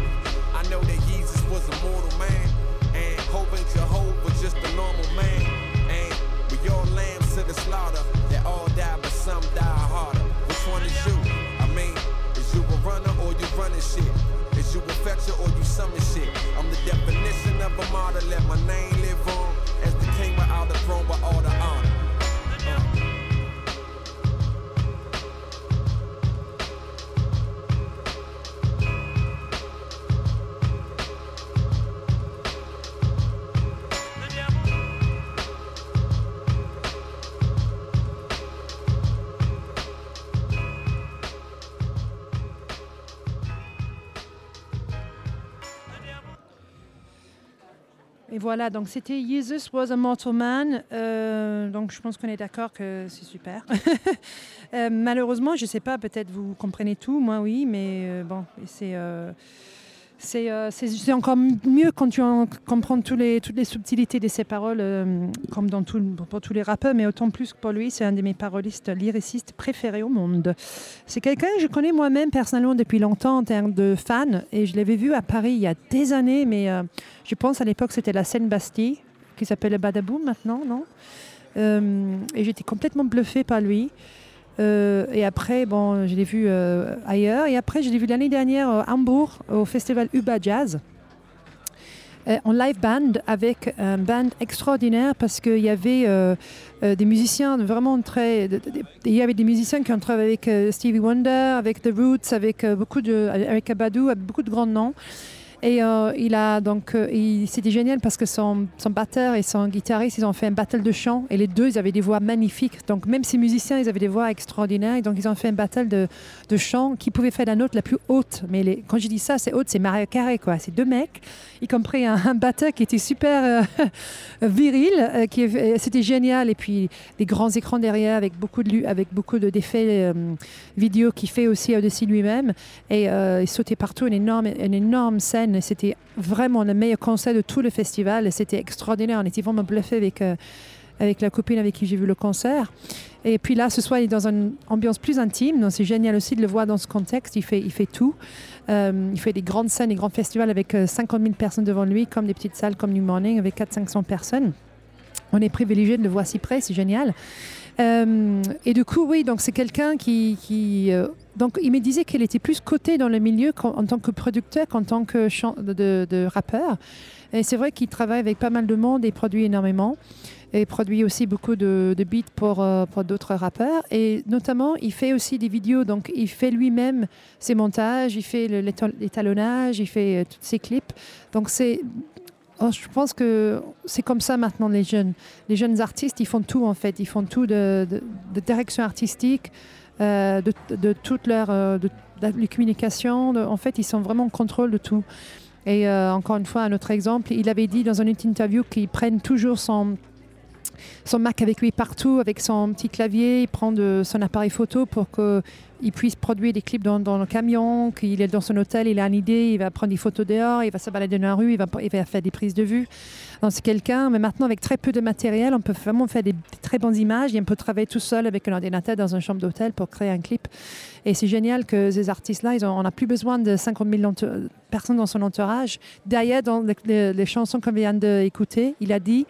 S6: I know that Jesus was a mortal man, and Hope ain't Jehovah, just a normal man. And we all lambs to the slaughter, they all die, but some die harder. Which one is you? I mean, is you a runner or you running shit? Is you a fetcher or you summon shit? I'm the definition of a martyr, let my name live on as the king without the throne with all the honor. Uh.
S3: Et voilà, donc c'était Jesus Was a Mortal Man. Euh, donc je pense qu'on est d'accord que c'est super. euh, malheureusement, je ne sais pas, peut-être vous comprenez tout, moi oui, mais euh, bon, c'est, euh, c'est, euh, c'est, c'est encore mieux quand tu en comprends tous les, toutes les subtilités de ses paroles, euh, comme dans tout, pour tous les rappeurs, mais autant plus que pour lui, c'est un de mes parolistes lyricistes préférés au monde. C'est quelqu'un que je connais moi-même personnellement depuis longtemps en termes de fan, et je l'avais vu à Paris il y a des années, mais euh, je pense à l'époque c'était la Seine-Bastille, qui s'appelle le Badaboum maintenant, non euh, Et j'étais complètement bluffée par lui. Euh, et après, bon, je l'ai vu euh, ailleurs. Et après, je l'ai vu l'année dernière à Hambourg, au festival Uba Jazz, euh, en live band, avec un band extraordinaire, parce qu'il y avait euh, euh, des musiciens vraiment très... De, de, de, il y avait des musiciens qui ont travaillé avec euh, Stevie Wonder, avec The Roots, avec euh, beaucoup de... avec Abadou, avec beaucoup de grands noms. Et euh, il a donc, euh, il, c'était génial parce que son, son batteur et son guitariste, ils ont fait un battle de chant, et les deux, ils avaient des voix magnifiques. Donc même ces musiciens, ils avaient des voix extraordinaires, et donc ils ont fait un battle de, de chant qui pouvait faire la note la plus haute. Mais les, quand je dis ça, c'est haute, c'est Mariah Carey, quoi. C'est deux mecs, y compris un, un batteur qui était super euh, viril, euh, qui, euh, c'était génial. Et puis des grands écrans derrière avec beaucoup de, avec beaucoup de, d'effets euh, vidéo qu'il fait aussi au-dessus lui-même. Et euh, il sautait partout, une énorme, une énorme scène. C'était vraiment le meilleur concert de tout le festival. C'était extraordinaire. On était vraiment bluffés avec, euh, avec la copine avec qui j'ai vu le concert. Et puis là, ce soir, il est dans une ambiance plus intime. Donc c'est génial aussi de le voir dans ce contexte. Il fait, il fait tout. Euh, il fait des grandes scènes, des grands festivals avec euh, cinquante mille personnes devant lui, comme des petites salles comme New Morning avec quatre cents à cinq cents personnes. On est privilégié de le voir si près. C'est génial. Euh, et du coup, oui, donc c'est quelqu'un qui... qui euh, donc, il me disait qu'elle était plus cotée dans le milieu en tant que producteur qu'en tant que chan- de, de, de rappeur. Et c'est vrai qu'il travaille avec pas mal de monde et produit énormément. et produit aussi beaucoup de, de beats pour, euh, pour d'autres rappeurs. Et notamment, il fait aussi des vidéos. Donc, il fait lui-même ses montages, il fait le, l'étalonnage, il fait euh, tous ses clips. Donc, c'est... Oh, je pense que c'est comme ça maintenant, les jeunes. Les jeunes artistes, ils font tout, en fait. Ils font tout de, de, de direction artistique, euh, de, de toute leur euh, de, de, de communication. De, en fait, ils sont vraiment en contrôle de tout. Et euh, encore une fois, un autre exemple, il avait dit dans une interview qu'ils prennent toujours son, son Mac avec lui partout, avec son petit clavier. Il prend de, son appareil photo pour qu'il puisse produire des clips dans, dans le camion, qu'il est dans son hôtel, il a une idée, il va prendre des photos dehors, il va se balader dans la rue, il va, il va faire des prises de vue. Donc, c'est quelqu'un, mais maintenant avec très peu de matériel, on peut vraiment faire des, des très bonnes images et on peut travailler tout seul avec un ordinateur dans une chambre d'hôtel pour créer un clip. Et c'est génial que ces artistes-là, ils ont, on n'a plus besoin de cinquante mille entour- personnes dans son entourage. D'ailleurs, dans les, les, les chansons qu'on vient d'écouter, il a dit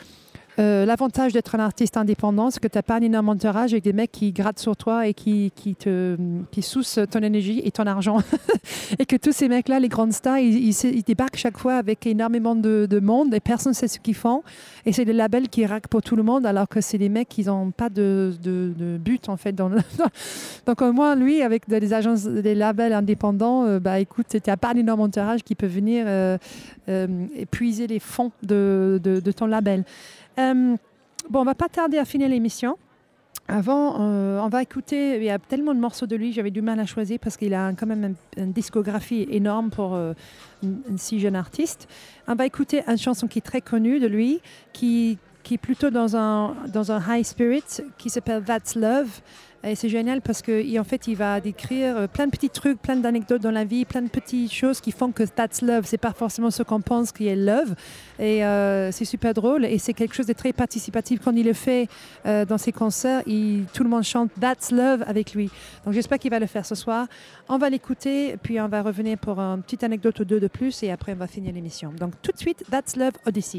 S3: Euh, l'avantage d'être un artiste indépendant, c'est que tu n'as pas un énorme entourage avec des mecs qui grattent sur toi et qui, qui, te, qui soussent ton énergie et ton argent. Et que tous ces mecs-là, les grandes stars, ils, ils, ils débarquent chaque fois avec énormément de, de monde et personne ne sait ce qu'ils font. Et c'est des labels qui raquent pour tout le monde alors que c'est des mecs qui n'ont pas de, de, de but en fait. Dans le... Donc au moins, lui, avec des agences, des labels indépendants, euh, bah écoute, tu n'as pas un énorme entourage qui peut venir euh, euh, épuiser les fonds de, de, de ton label. Euh, bon, on va pas tarder à finir l'émission. Avant, euh, on va écouter, il y a tellement de morceaux de lui, j'avais du mal à choisir parce qu'il a quand même un, une discographie énorme pour euh, une, une si jeune artiste. On va écouter une chanson qui est très connue de lui, qui, qui est plutôt dans un, dans un high spirit, qui s'appelle That's Love. Et c'est génial parce qu'en fait, il va décrire plein de petits trucs, plein d'anecdotes dans la vie, plein de petites choses qui font que that's love. C'est pas forcément ce qu'on pense qui est love. Et euh, c'est super drôle. Et c'est quelque chose de très participatif. Quand il le fait euh, dans ses concerts, il, tout le monde chante that's love avec lui. Donc j'espère qu'il va le faire ce soir. On va l'écouter, puis on va revenir pour une petite anecdote ou deux de plus. Et après, on va finir l'émission. Donc tout de suite, That's Love Odyssey.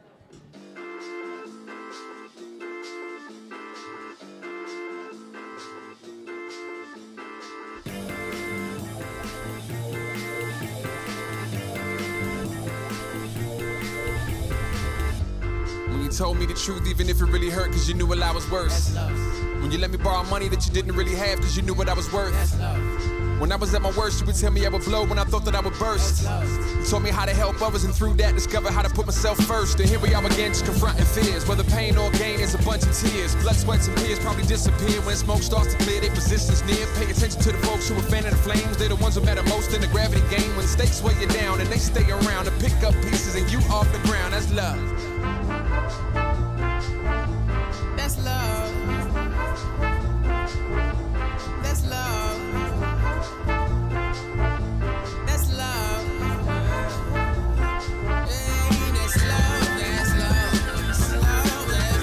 S6: You told me the truth even if it really hurt cause you knew what I was worth. When you let me borrow money that you didn't really have cause you knew what I was worth. When I was at my worst you would tell me I would blow when I thought that I would burst. You told me how to help others and through that discover how to put myself first. And here we are again just confronting fears. Whether pain or gain is a bunch of tears. Blood, sweat and tears probably disappear when smoke starts to clear. Their positions near. Pay attention to the folks who are fanning the flames. They're the ones who matter most in the gravity game. When stakes weigh you down and they stay around to pick up pieces and you off the ground. That's love. That's love. That's love. That's love. Hey, that's love. That's love. That's love. That's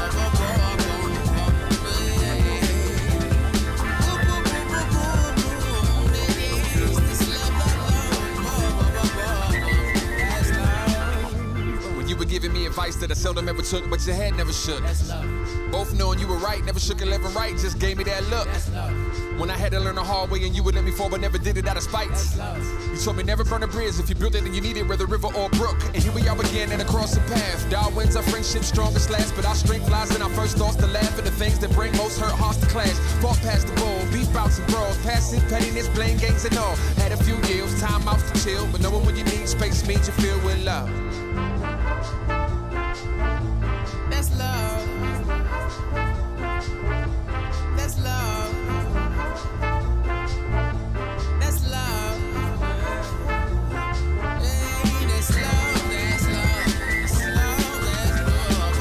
S6: love. When you were giving me advice that I seldom ever took, but your head never shook. Both knowing you were right, never shook a left and right, just gave me that look. When I had to learn the hard way and you would let me fall, but never did it out of spite. You told me never burn a bridge if you built it and you need it, whether river or brook. And here we are again and across the path. Darwin's our friendship strongest last, but our strength lies in our first thoughts to laugh at the things that bring most hurt hearts to clash. Fought past the bowl, beef bouts and brawls, passing pettiness, blame games and all. Had a few years, time out to chill, but knowing when you need space means you feel with love. That's love. That's love. That's love. Hey, that's love. That's love. That's love. That's love.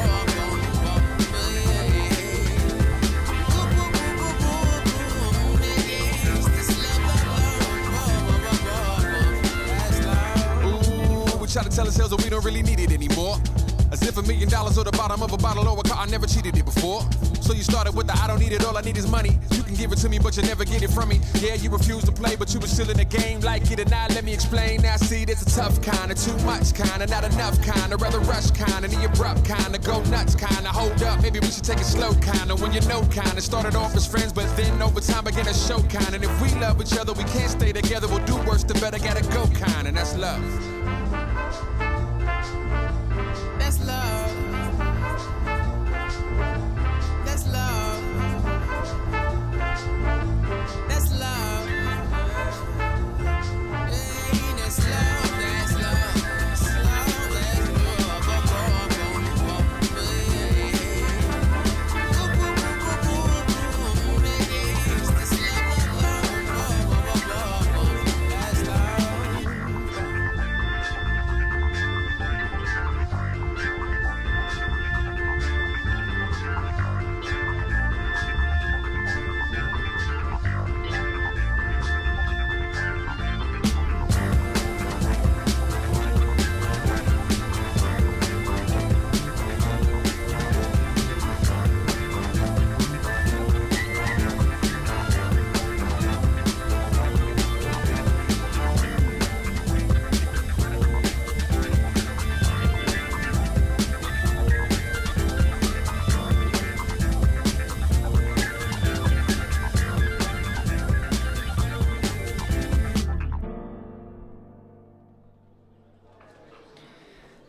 S6: Ooh, we try to tell ourselves that we don't really need it anymore. As if a million dollars or the bottom of a bottle or a car, I never cheated it before. So you started with the I don't need it, all I need is money. You can give it to me, but you never get it from me. Yeah, you refuse to play, but you were still in the game. Like it or not, let me explain. Now see, there's a tough kind, of too much kind, of not enough kind, of rather rush kind, of the abrupt kind, of go nuts kind, of hold up, maybe we should take it slow kind, of when you know kind, of started off as friends, but then over time began to show kind. And if we love each other, we can't stay together, we'll do worse, the better gotta go kind, and that's love. That's love.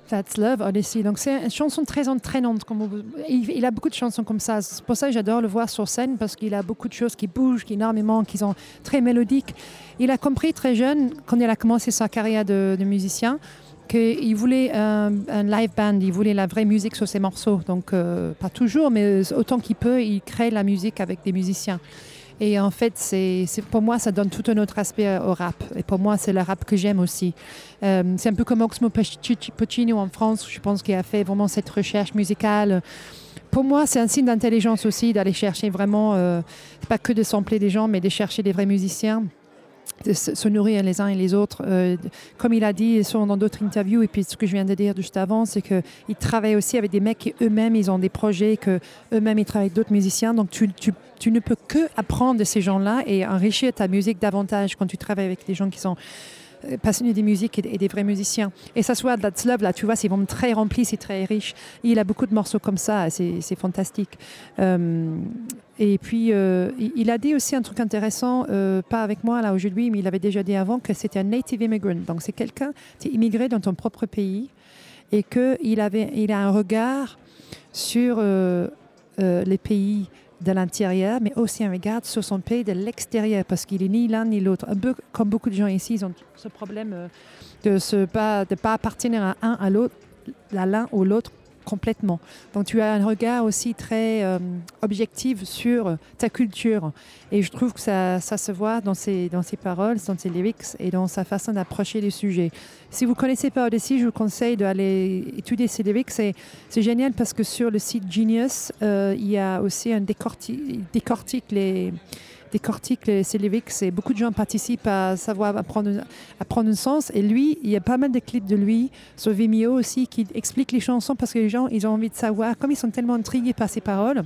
S3: That's Love, Odyssey. Donc, c'est une chanson très entraînante. Comme vous- il, il a beaucoup de chansons comme ça. C'est pour ça que j'adore le voir sur scène, parce qu'il a beaucoup de choses qui bougent, qui énormément, qui sont très mélodiques. Il a compris très jeune, quand il a commencé sa carrière de, de musicien, qu'il voulait un, un live band, il voulait la vraie musique sur ses morceaux. Donc, euh, pas toujours, mais autant qu'il peut, il crée la musique avec des musiciens. Et en fait, c'est, c'est, pour moi, ça donne tout un autre aspect au rap. Et pour moi, c'est le rap que j'aime aussi. Euh, c'est un peu comme Oxmo Puccino en France, je pense qu'il a fait vraiment cette recherche musicale. Pour moi, c'est un signe d'intelligence aussi, d'aller chercher vraiment, euh, pas que de sampler des gens, mais de chercher des vrais musiciens, de se, se nourrir les uns et les autres. Euh, comme il a dit souvent dans d'autres interviews, et puis ce que je viens de dire juste avant, c'est qu'il travaille aussi avec des mecs qui eux-mêmes, ils ont des projets, qu'eux-mêmes, ils travaillent avec d'autres musiciens. Donc, tu, tu, tu ne peux que apprendre de ces gens-là et enrichir ta musique davantage quand tu travailles avec des gens qui sont passionné des musiques et, et des vrais musiciens. Et ça soit That's Love, là, tu vois, c'est vraiment très rempli, c'est très riche. Et il a beaucoup de morceaux comme ça, c'est, c'est fantastique. Euh, et puis, euh, il a dit aussi un truc intéressant, euh, pas avec moi là aujourd'hui, mais il avait déjà dit avant que c'était un native immigrant. Donc, c'est quelqu'un qui est immigré dans ton propre pays et qu'il avait, il a un regard sur euh, euh, les pays de l'intérieur, mais aussi un regard sur son pays de l'extérieur, parce qu'il est ni l'un ni l'autre. Un peu comme beaucoup de gens ici, ils ont ce problème euh, de ne pas, de pas appartenir à un à l'autre, à l'un ou l'autre complètement. Donc tu as un regard aussi très euh, objectif sur ta culture. Et je trouve que ça, ça se voit dans ses, dans ses paroles, dans ses lyrics et dans sa façon d'approcher les sujets. Si vous ne connaissez pas Odyssey, je vous conseille d'aller étudier ses lyrics. C'est, c'est génial parce que sur le site Genius, euh, il y a aussi un décortique, décortique les... décortique ces lyrics et beaucoup de gens participent à savoir apprendre, apprendre un sens. Et lui, il y a pas mal de clips de lui sur Vimeo aussi qui expliquent les chansons parce que les gens, ils ont envie de savoir, comme ils sont tellement intrigués par ses paroles.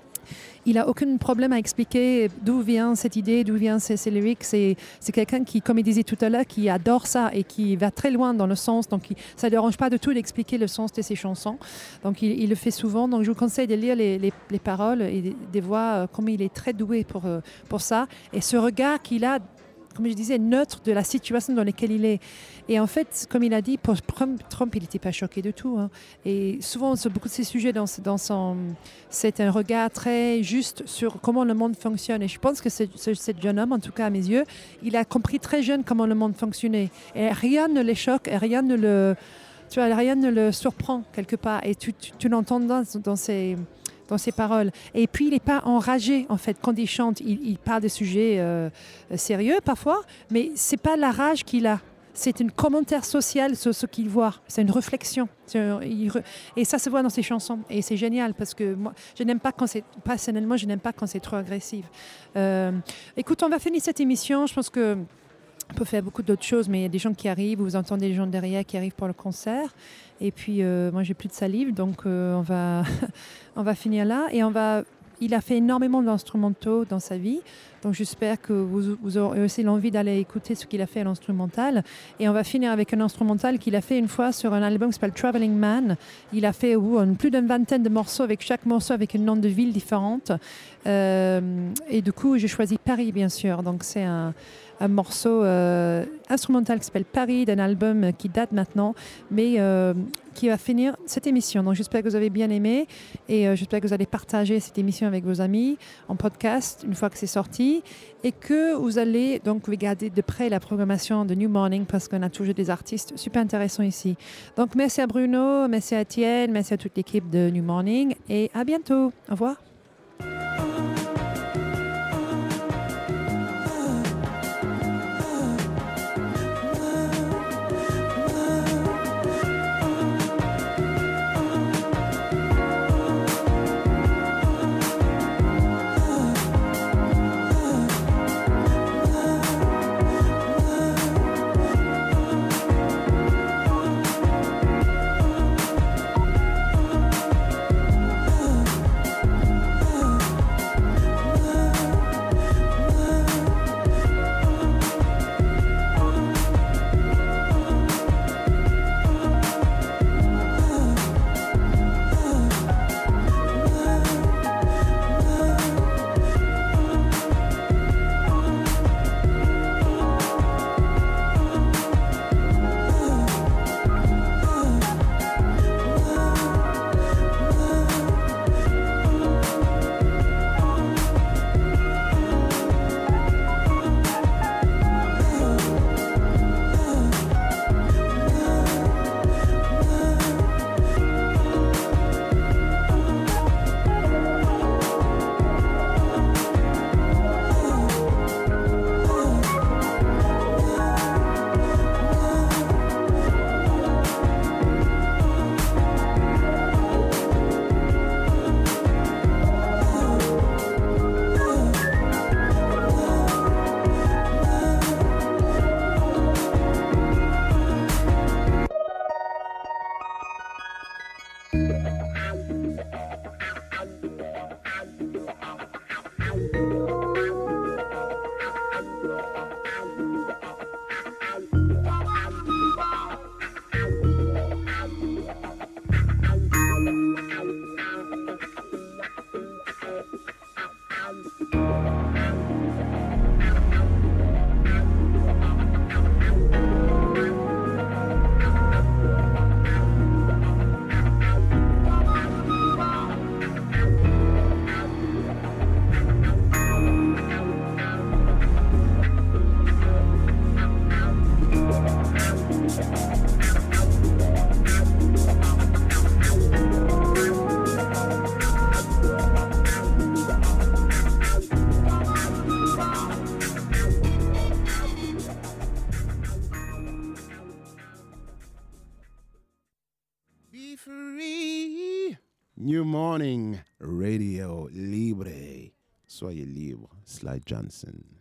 S3: Il n'a aucun problème à expliquer d'où vient cette idée, d'où vient ces, ces lyrics. C'est, c'est quelqu'un qui, comme il disait tout à l'heure, qui adore ça et qui va très loin dans le sens. Donc, il, ça ne dérange pas du tout d'expliquer le sens de ses chansons. Donc, il, il le fait souvent. Donc, je vous conseille de lire les, les, les paroles et de, de voir euh, comment il est très doué pour, euh, pour ça. Et ce regard qu'il a, comme je disais, neutre de la situation dans laquelle il est. Et en fait, comme il a dit, pour Trump, il n'était pas choqué du tout. Hein. Et souvent, sur beaucoup de ces sujets, dans, dans son, c'est un regard très juste sur comment le monde fonctionne. Et je pense que ce, ce, ce jeune homme, en tout cas à mes yeux, il a compris très jeune comment le monde fonctionnait. Et rien ne le choque, et rien ne le, tu vois, rien ne le surprend quelque part. Et tu, tu, tu l'entends dans, dans ses... dans ses paroles. Et puis, il n'est pas enragé, en fait. Quand il chante, il, il parle de sujets euh, sérieux, parfois, mais ce n'est pas la rage qu'il a. C'est un commentaire social sur ce qu'il voit. C'est une réflexion. C'est un, il, et ça se voit dans ses chansons. Et c'est génial, parce que moi, je n'aime pas quand c'est... Personnellement, je n'aime pas quand c'est trop agressif. Euh, écoute, on va finir cette émission. Je pense que on peut faire beaucoup d'autres choses, mais il y a des gens qui arrivent, vous entendez les gens derrière qui arrivent pour le concert. Et puis, euh, moi, j'ai plus de salive, donc euh, on va, on va finir là. Et on va, il a fait énormément d'instrumentaux dans sa vie, donc j'espère que vous, vous aurez aussi l'envie d'aller écouter ce qu'il a fait à l'instrumental. Et on va finir avec un instrumental qu'il a fait une fois sur un album qui s'appelle Traveling Man. Il a fait oh, plus d'une vingtaine de morceaux, avec chaque morceau avec un nom de ville différente. Euh, et du coup, j'ai choisi Paris, bien sûr. Donc, c'est un... un morceau euh, instrumental qui s'appelle Paris, d'un album qui date maintenant, mais euh, qui va finir cette émission. Donc j'espère que vous avez bien aimé et euh, j'espère que vous allez partager cette émission avec vos amis en podcast une fois que c'est sorti et que vous allez donc regarder de près la programmation de New Morning parce qu'on a toujours des artistes super intéressants ici. Donc merci à Bruno, merci à Étienne, merci à toute l'équipe de New Morning et à bientôt. Au revoir.
S1: Be free. New Morning Radio Libre. Soyez libre. Sly Johnson.